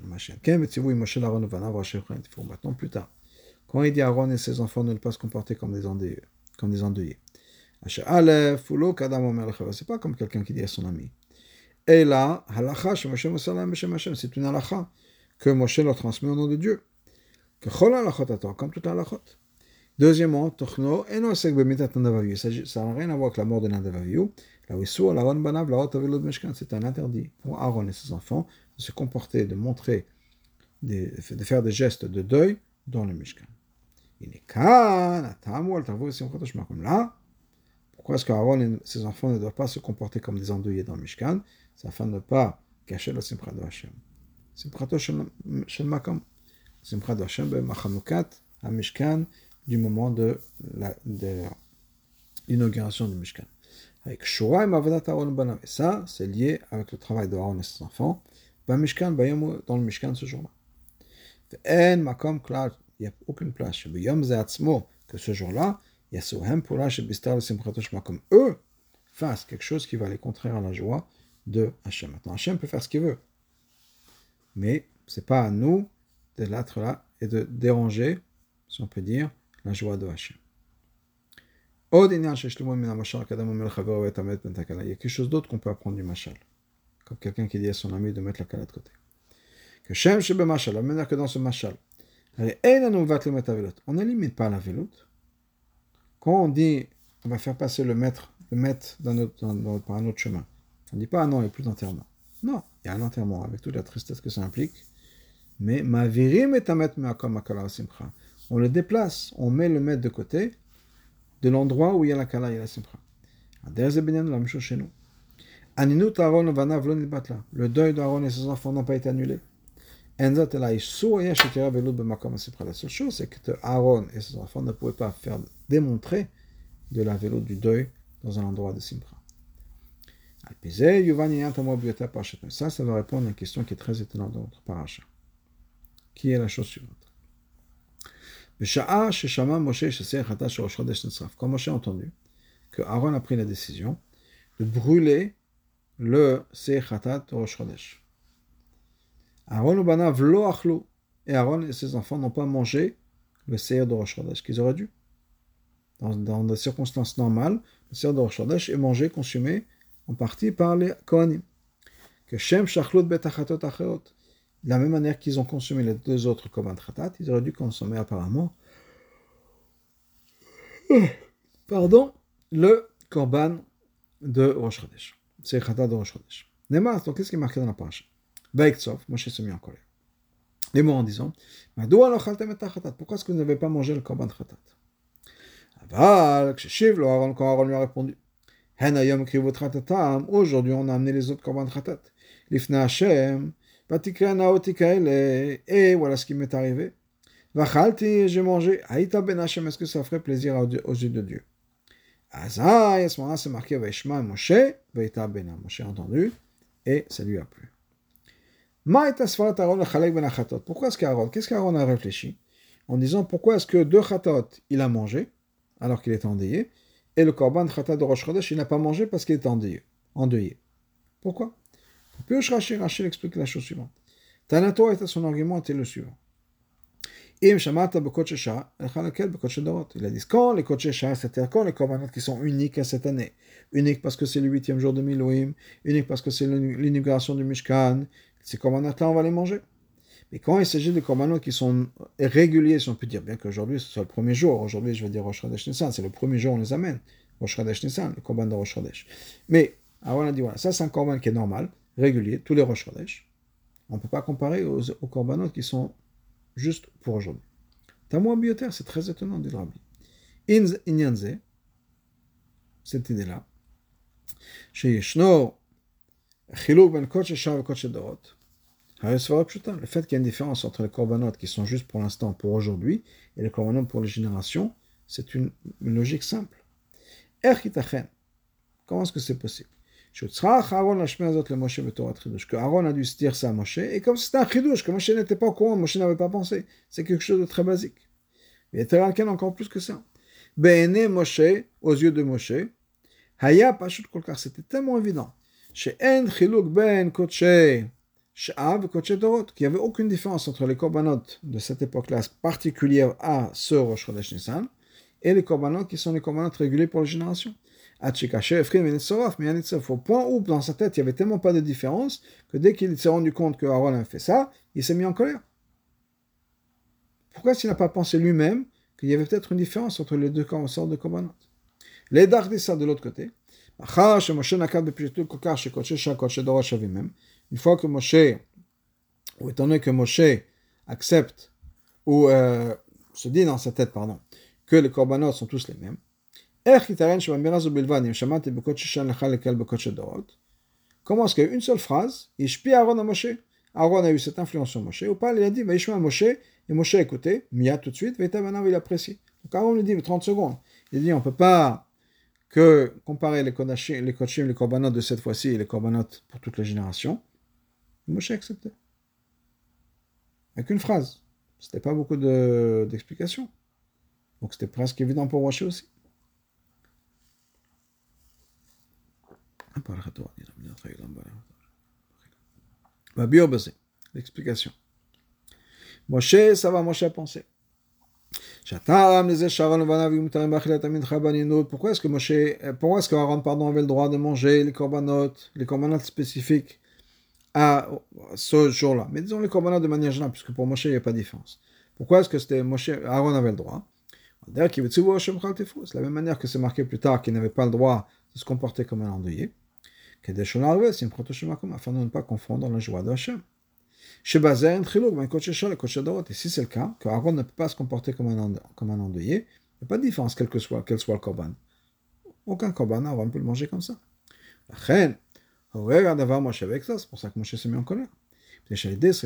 Maintenant, plus tard, quand il dit Aaron et ses enfants ne pas se comporter comme des endeuillés. C'est pas comme quelqu'un qui dit à son ami. Et là, c'est une halakha que Moshe leur transmet au nom de Dieu. Comme toute halachot. Deuxièmement, Tochno, ça n'a rien à voir avec la mort de Nadav Avihu. C'est un interdit pour Aaron et ses enfants de se comporter, de montrer, de faire des gestes de deuil dans le Mishkan. Là, pourquoi est-ce qu'Aaron et ses enfants ne doivent pas se comporter comme des endeuillés dans le Mishkan? C'est afin de ne pas cacher la Simcha de Hashem. Simchato shel Makam. Simcha de Hashem, Machanukat, à Mishkan, du moment de l'inauguration du Mishkan. Avec Shura et Mavadat Aaron Banav. Et ça, c'est lié avec le travail d'Aaron et ses enfants. Dans le Mishkan ce jour-là. Il n'y a aucune place. Que ce jour-là, comme eux fassent quelque chose qui va aller contraire à la joie de Hachem. Maintenant, Hachem peut faire ce qu'il veut. Mais ce n'est pas à nous de l'être là et de déranger, si on peut dire, la joie de Hachem. Il y a quelque chose d'autre qu'on peut apprendre du mashal. Comme quelqu'un qui dit à son ami de mettre la kala de côté. Que Shem shebe mashal, la manière que dans ce mashal, on n'élimine pas la veloute. Quand on dit on va faire passer le maître par un autre chemin, on ne dit pas ah non, il n'y a plus d'enterrement. Non, il y a un enterrement avec toute la tristesse que ça implique. Mais on le déplace, on met le maître de côté de l'endroit où il y a la kala et la simcha. La même chose chez nous. Le deuil d'Aaron et ses enfants n'ont pas été annulés. La seule chose, c'est que Aaron et ses enfants ne pouvaient pas faire démontrer de la vélo du deuil dans un endroit de simcha. Ça va répondre à une question qui est très étonnante dans notre paracha. Qui est la chose suivante? Quand Moshe a entendu que Aaron a pris la décision de brûler le Seir Chatat de Rosh Chodesh. Aaron ubanav lo achlu, et Aaron et ses enfants n'ont pas mangé le Seir de Rosh Chodesh qu'ils auraient dû. Dans des circonstances normales, le Seir de Rosh Chodesh est mangé, consumé en partie par les Kohanim. Que Shem shachlut betachatot acherot. De la même manière qu'ils ont consommé les deux autres korban chatat, ils auraient dû consommer apparemment le korban de Rosh Chodesh. C'est chatat de Rosh Chodesh. Néma, donc qu'est-ce qui est marqué dans la paracha? Vaiktsov, Moshe se mit en colère. Les mots en disant, pourquoi est-ce que vous n'avez pas mangé le korban chatat? Aval, quand Aaron lui a répondu, aujourd'hui on a amené les autres korban chatat. Lifna Hashem, et voilà ce qui m'est arrivé. Vachalti, j'ai mangé. Haïta ben Hashem, est-ce que ça ferait plaisir aux yeux de Dieu? Azaï, à ce moment-là, c'est marqué Vaishma Moshe, Vaïta ben Moshe a entendu, et ça lui a plu. Pourquoi est-ce qu'Aaron, qu'est-ce qu'Aaron a réfléchi en disant pourquoi est-ce que deux chatot il a mangé alors qu'il était endeuillé, et le korban chatat de Rosh Chodesh il n'a pas mangé parce qu'il était endeuillé. Pourquoi? Puis Rachel explique la chose suivante. Tanato était son argument était le suivant. Il a dit quand les Kodesh, c'est-à-dire quand les korbanot qui sont uniques à cette année, uniques parce que c'est le 8e jour de Milouim, uniques parce que c'est l'inauguration du Mishkan, ces korbanot-là on va les manger. Mais quand il s'agit de korbanot qui sont réguliers, si on peut dire, bien qu'aujourd'hui ce soit le premier jour, aujourd'hui je vais dire Rosh Chodesh Nissan, c'est le premier jour on les amène, Rosh Chodesh Nissan, le korban de Rosh Chodesh. Mais Aaron a dit, voilà, ça c'est un korban qui est normal, régulier, tous les Rosh Chodesh. On ne peut pas comparer aux korbanot qui sont juste pour aujourd'hui. Tamoua bioter, c'est très étonnant, dit le Rabbi. Inyanze, cette idée-là, chez Yeshno, Chiluk ben Kodesh Shar et Kodesh Dorot, le fait qu'il y a une différence entre les korbanot qui sont juste pour l'instant, pour aujourd'hui, et les korbanot pour les générations, c'est une logique simple. Comment est-ce que c'est possible? Que Aaron a dû se dire ça à Moshe, et comme c'était un chidouche, que Moshe n'était pas au courant, Moshe n'avait pas pensé. C'est quelque chose de très basique. Mais il y a encore plus que ça. Be'ene Moshe, aux yeux de Moshe, Haya Pashut Kolkar, c'était tellement évident. She'en chiluk ben kodshe sh'av kodshe dorot, qu'il n'y avait aucune différence entre les korbanot de cette époque-là particulière à ce Rosh Chodesh Nissan, et les korbanot qui sont les korbanot réguliers pour les générations. Au point où, dans sa tête, il n'y avait tellement pas de différence que dès qu'il s'est rendu compte que Aaron a fait ça, il s'est mis en colère. Pourquoi s'il n'a pas pensé lui-même qu'il y avait peut-être une différence entre les deux sortes de korbanot? Les dardissa de l'autre côté. Une fois que Moshe, ou étant donné que Moshe accepte, ou se dit dans sa tête, pardon, que les korbanot sont tous les mêmes, comment est-ce qu'il y a une seule phrase, Aaron a Moshe, Aaron a eu cette influence sur Moshe, ou pas, il a dit, Moshe, et Moshe a écouté, Mia tout de suite, il a apprécié. Donc Aaron lui dit, 30 secondes. Il dit, on ne peut pas que comparer les kodashim, les korbanot de cette fois-ci et les korbanot pour toutes les générations. Moshe a accepté. Avec une phrase. C'était pas beaucoup d'explications. Donc c'était presque évident pour Moshe aussi. L'explication. Moshe, ça va, Moshe a pensé. Pourquoi est-ce que Aaron avait le droit de manger les korbanot spécifiques à ce jour-là? Mais disons les korbanot de manière générale, puisque pour Moshe, il n'y a pas de différence. Pourquoi est-ce que Aaron avait le droit? C'est la même manière que c'est marqué plus tard qu'il n'avait pas le droit de se comporter comme un endeuillé, afin de ne pas confondre la joie de Hachem. Et si c'est le cas, que Aaron ne peut pas se comporter comme un endeuillé, il n'y a pas de différence, quel soit le korban. Aucun korban, Aaron peut le manger comme ça. C'est pour ça que Moshe s'est mis en colère. Parce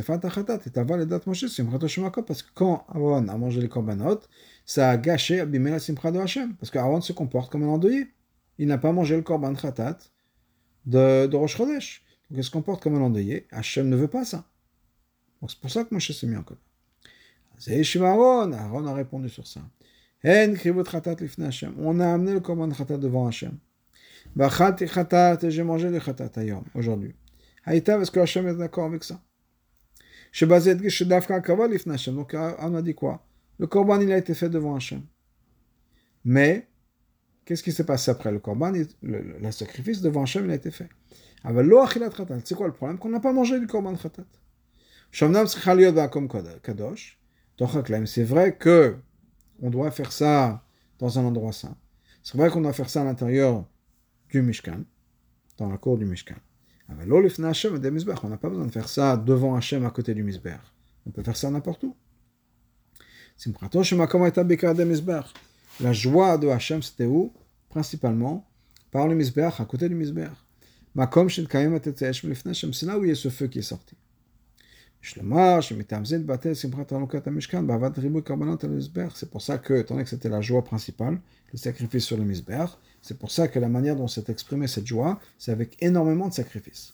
que quand Aaron a mangé les korbanot, ça a gâché, abîmé la simcha de Hachem. Parce qu'Aaron se comporte comme un endeuillé. Il n'a pas mangé le korban khatat de Rosh Chodesh. Donc il se comporte comme un endeuillé. Hachem ne veut pas ça. Donc c'est pour ça que Moshe s'est mis en colère. Aaron a répondu sur ça. On a amené le korban khatat devant Hachem. J'ai mangé le khatat aujourd'hui. Haïta, est-ce que Hachem est d'accord avec ça? Donc on a dit quoi? Le korban il a été fait devant Hachem. Mais qu'est-ce qui s'est passé après le korban? Le sacrifice devant Hachem il a été fait. C'est quoi le problème? Qu'on n'a pas mangé du korban khatat. C'est vrai que on doit faire ça dans un endroit saint. C'est vrai qu'on doit faire ça à l'intérieur du Mishkan, dans la cour du Mishkan. On n'a pas besoin de faire ça devant Hachem à côté du Mizbeach. On peut faire ça n'importe où. La joie de Hachem, c'était où? Principalement par le Mizbeach, à côté du Mizbeach. C'est là où il y a ce feu qui est sorti. C'est pour ça que, étant donné que c'était la joie principale, le sacrifice sur le Mizbeach, c'est pour ça que la manière dont s'est exprimée cette joie, c'est avec énormément de sacrifices.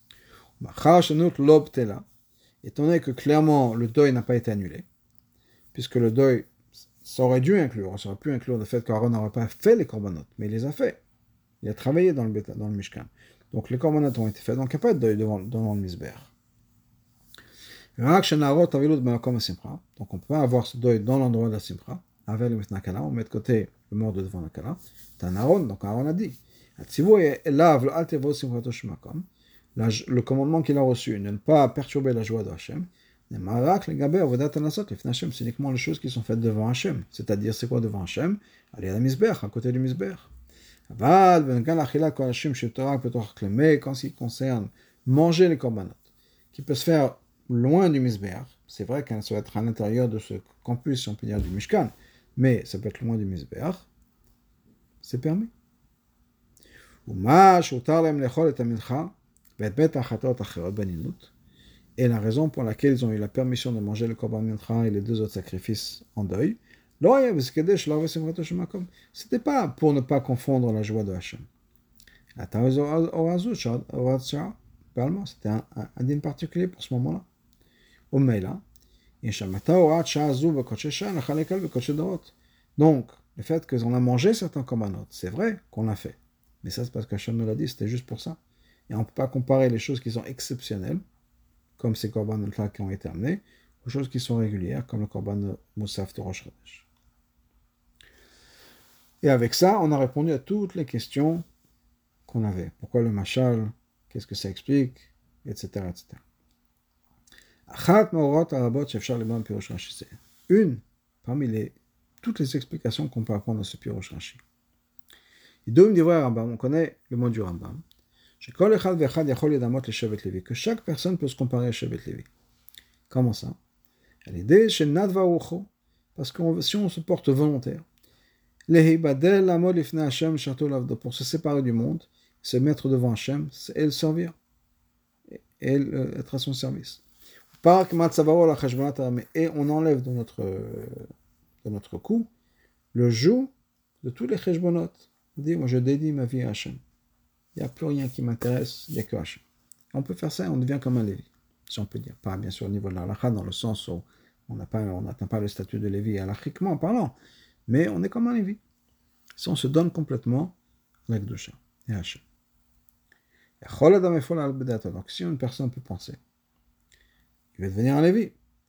Étant donné que clairement le deuil n'a pas été annulé, puisque le deuil, ça aurait pu inclure le fait qu'Aaron n'aurait pas fait les korbanot, mais il les a fait. Il a travaillé dans le Mishkan. Donc les korbanot ont été faits, donc il n'y a pas de deuil devant le Mizbeach. Donc on peut pas avoir ce deuil dans l'endroit de la Simcha, avec le Mitnakala, on met de côté le mort de devant la Kala. C'est un Aaron, donc Aaron a dit, le commandement qu'il a reçu, de ne pas perturber la joie de Hachem, c'est uniquement les choses qui sont faites devant Hachem. C'est-à-dire, c'est quoi devant Hachem? Aller à la Mizbeach, à côté du Mizbeach. Mais quand il concerne manger les korbanot, qui peut se faire loin du Mizbeach, c'est vrai qu'elle doit être à l'intérieur de ce campus, si on peut dire, du Mishkan, mais ça peut être loin du Mizbeach, c'est permis. Et la raison pour laquelle ils ont eu la permission de manger le korban mincha et les deux autres sacrifices en deuil, c'était pas pour ne pas confondre la joie de Hachem. C'était un dîme particulier pour ce moment-là. Donc, le fait qu'on a mangé certains korbanot, c'est vrai qu'on l'a fait. Mais ça, c'est parce qu'Hachem nous l'a dit, c'était juste pour ça. Et on ne peut pas comparer les choses qui sont exceptionnelles, comme ces korbanot-là qui ont été amenés, aux choses qui sont régulières, comme le korban Moussaf de Rosh Chodesh. Et avec ça, on a répondu à toutes les questions qu'on avait. Pourquoi le machal? Qu'est-ce que ça explique? Etc. etc. Une parmi toutes les explications qu'on peut apprendre dans ce Pirush Rashi. On connaît le mot du Rambam. Que chaque personne peut se comparer à Shevet Levi. Comment ça? Parce que si on se porte volontaire, pour se séparer du monde, se mettre devant Hachem et le servir, et être à son service. Et on enlève de notre cou le joug de tous les cheshbonot. On dit, moi je dédie ma vie à Hachem. Il n'y a plus rien qui m'intéresse, il n'y a que Hachem. On peut faire ça et on devient comme un Lévi, si on peut dire. Pas bien sûr au niveau de la halakha, dans le sens où on n'atteint pas le statut de Lévi halachiquement parlant, mais on est comme un Lévi. Si on se donne complètement à la Kedusha et à Hachem. Donc si une personne peut penser, il va devenir un Lévi.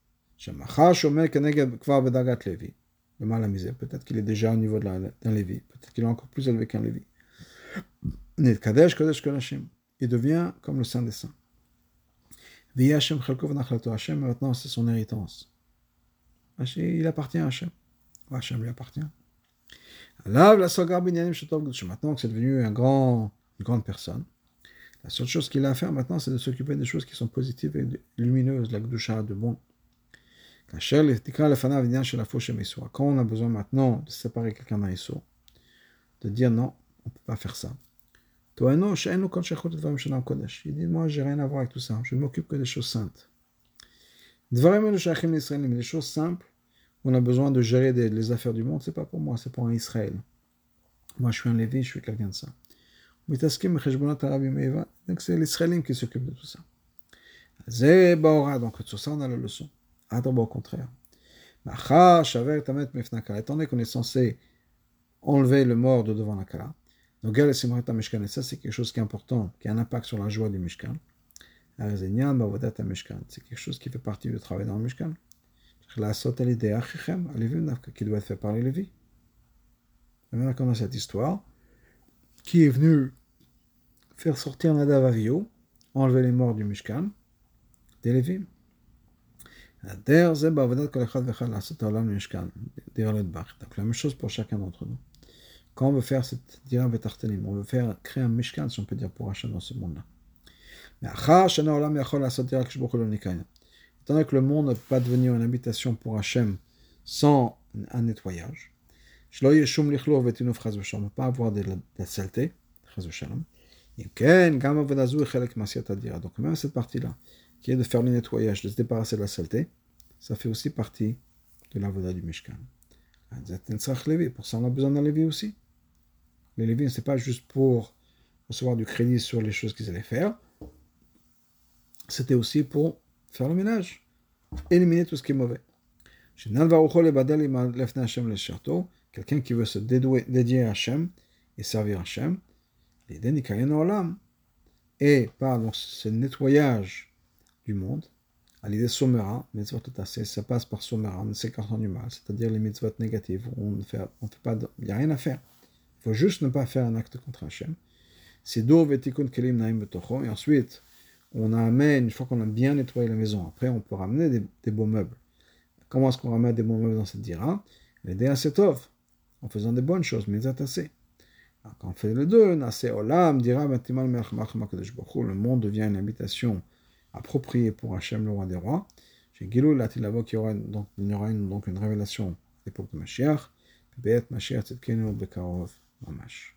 Peut-être qu'il est déjà au niveau d'un Lévi, peut-être qu'il est encore plus élevé qu'un Lévi. Il devient comme le Saint des Saints. Hachem, maintenant c'est son héritance. Il appartient à Hachem. Hachem lui appartient. Maintenant que c'est devenu une grande personne, la seule chose qu'il a à faire maintenant, c'est de s'occuper des choses qui sont positives et lumineuses, la Kedusha, de bon. Quand on a besoin maintenant de séparer quelqu'un d'un Issour, de dire non, on ne peut pas faire ça. Il dit, moi, j'ai rien à voir avec tout ça, je ne m'occupe que des choses saintes. Les choses simples, on a besoin de gérer les affaires du monde, c'est pas pour moi, c'est pour un Israël. Moi, je suis un Lévi, je suis quelqu'un de ça. Donc, c'est l'Israélim qui s'occupe de tout ça. Donc, sur ça, on a la leçon. Au contraire. Étant donné qu'on est censé enlever le mort de devant la Kala, donc, et ça, c'est quelque chose qui est important, qui a un impact sur la joie du Mishkan. C'est quelque chose qui fait partie du travail dans le Mishkan. Qui doit être fait par les Lévis. Et maintenant qu'on a cette histoire, qui est venu faire sortir Nadav Avihu, enlever les morts du Mishkan, des Lévis. Donc la même chose pour chacun d'entre nous. Quand on veut faire cette dira betartelim, on veut créer un Mishkan, si on peut dire, pour Hachem dans ce monde-là. Mais étant donné que le monde ne peut pas devenir une habitation pour Hachem sans un nettoyage, on ne peut pas avoir de la saleté, donc même cette partie-là, qui est de faire le nettoyage, de se débarrasser de la saleté, ça fait aussi partie de l'avoda du Mishkan. Pour ça, on a besoin d'un Lévi aussi. Les Lévi, ce n'est pas juste pour recevoir du crédit sur les choses qu'ils allaient faire, c'était aussi pour faire le ménage, éliminer tout ce qui est mauvais. Quelqu'un qui veut se dédier à Hachem et servir Hachem, et par donc, ce nettoyage du monde, à l'idée somera, ça passe par somera, on s'écartant du mal, c'est-à-dire les mitzvot négatives, il n'y a rien à faire. Il faut juste ne pas faire un acte contre Hachem. Et ensuite, on amène, une fois qu'on a bien nettoyé la maison, après on peut ramener des beaux meubles. Comment est-ce qu'on ramène des beaux meubles dans cette dira? L'idée à Setov, en faisant des bonnes choses, mais attachées. Quand on fait les deux, Nase Olam, dira Matimal Melech Malcham Kadosh Baruch Hu, le monde devient une habitation appropriée pour Hachem, le roi des rois. Chez Gilou Latilavo, il y aura donc une révélation à l'époque de Mashiach. Be'et Mashiach Tzidkenu Bekarov Mamash.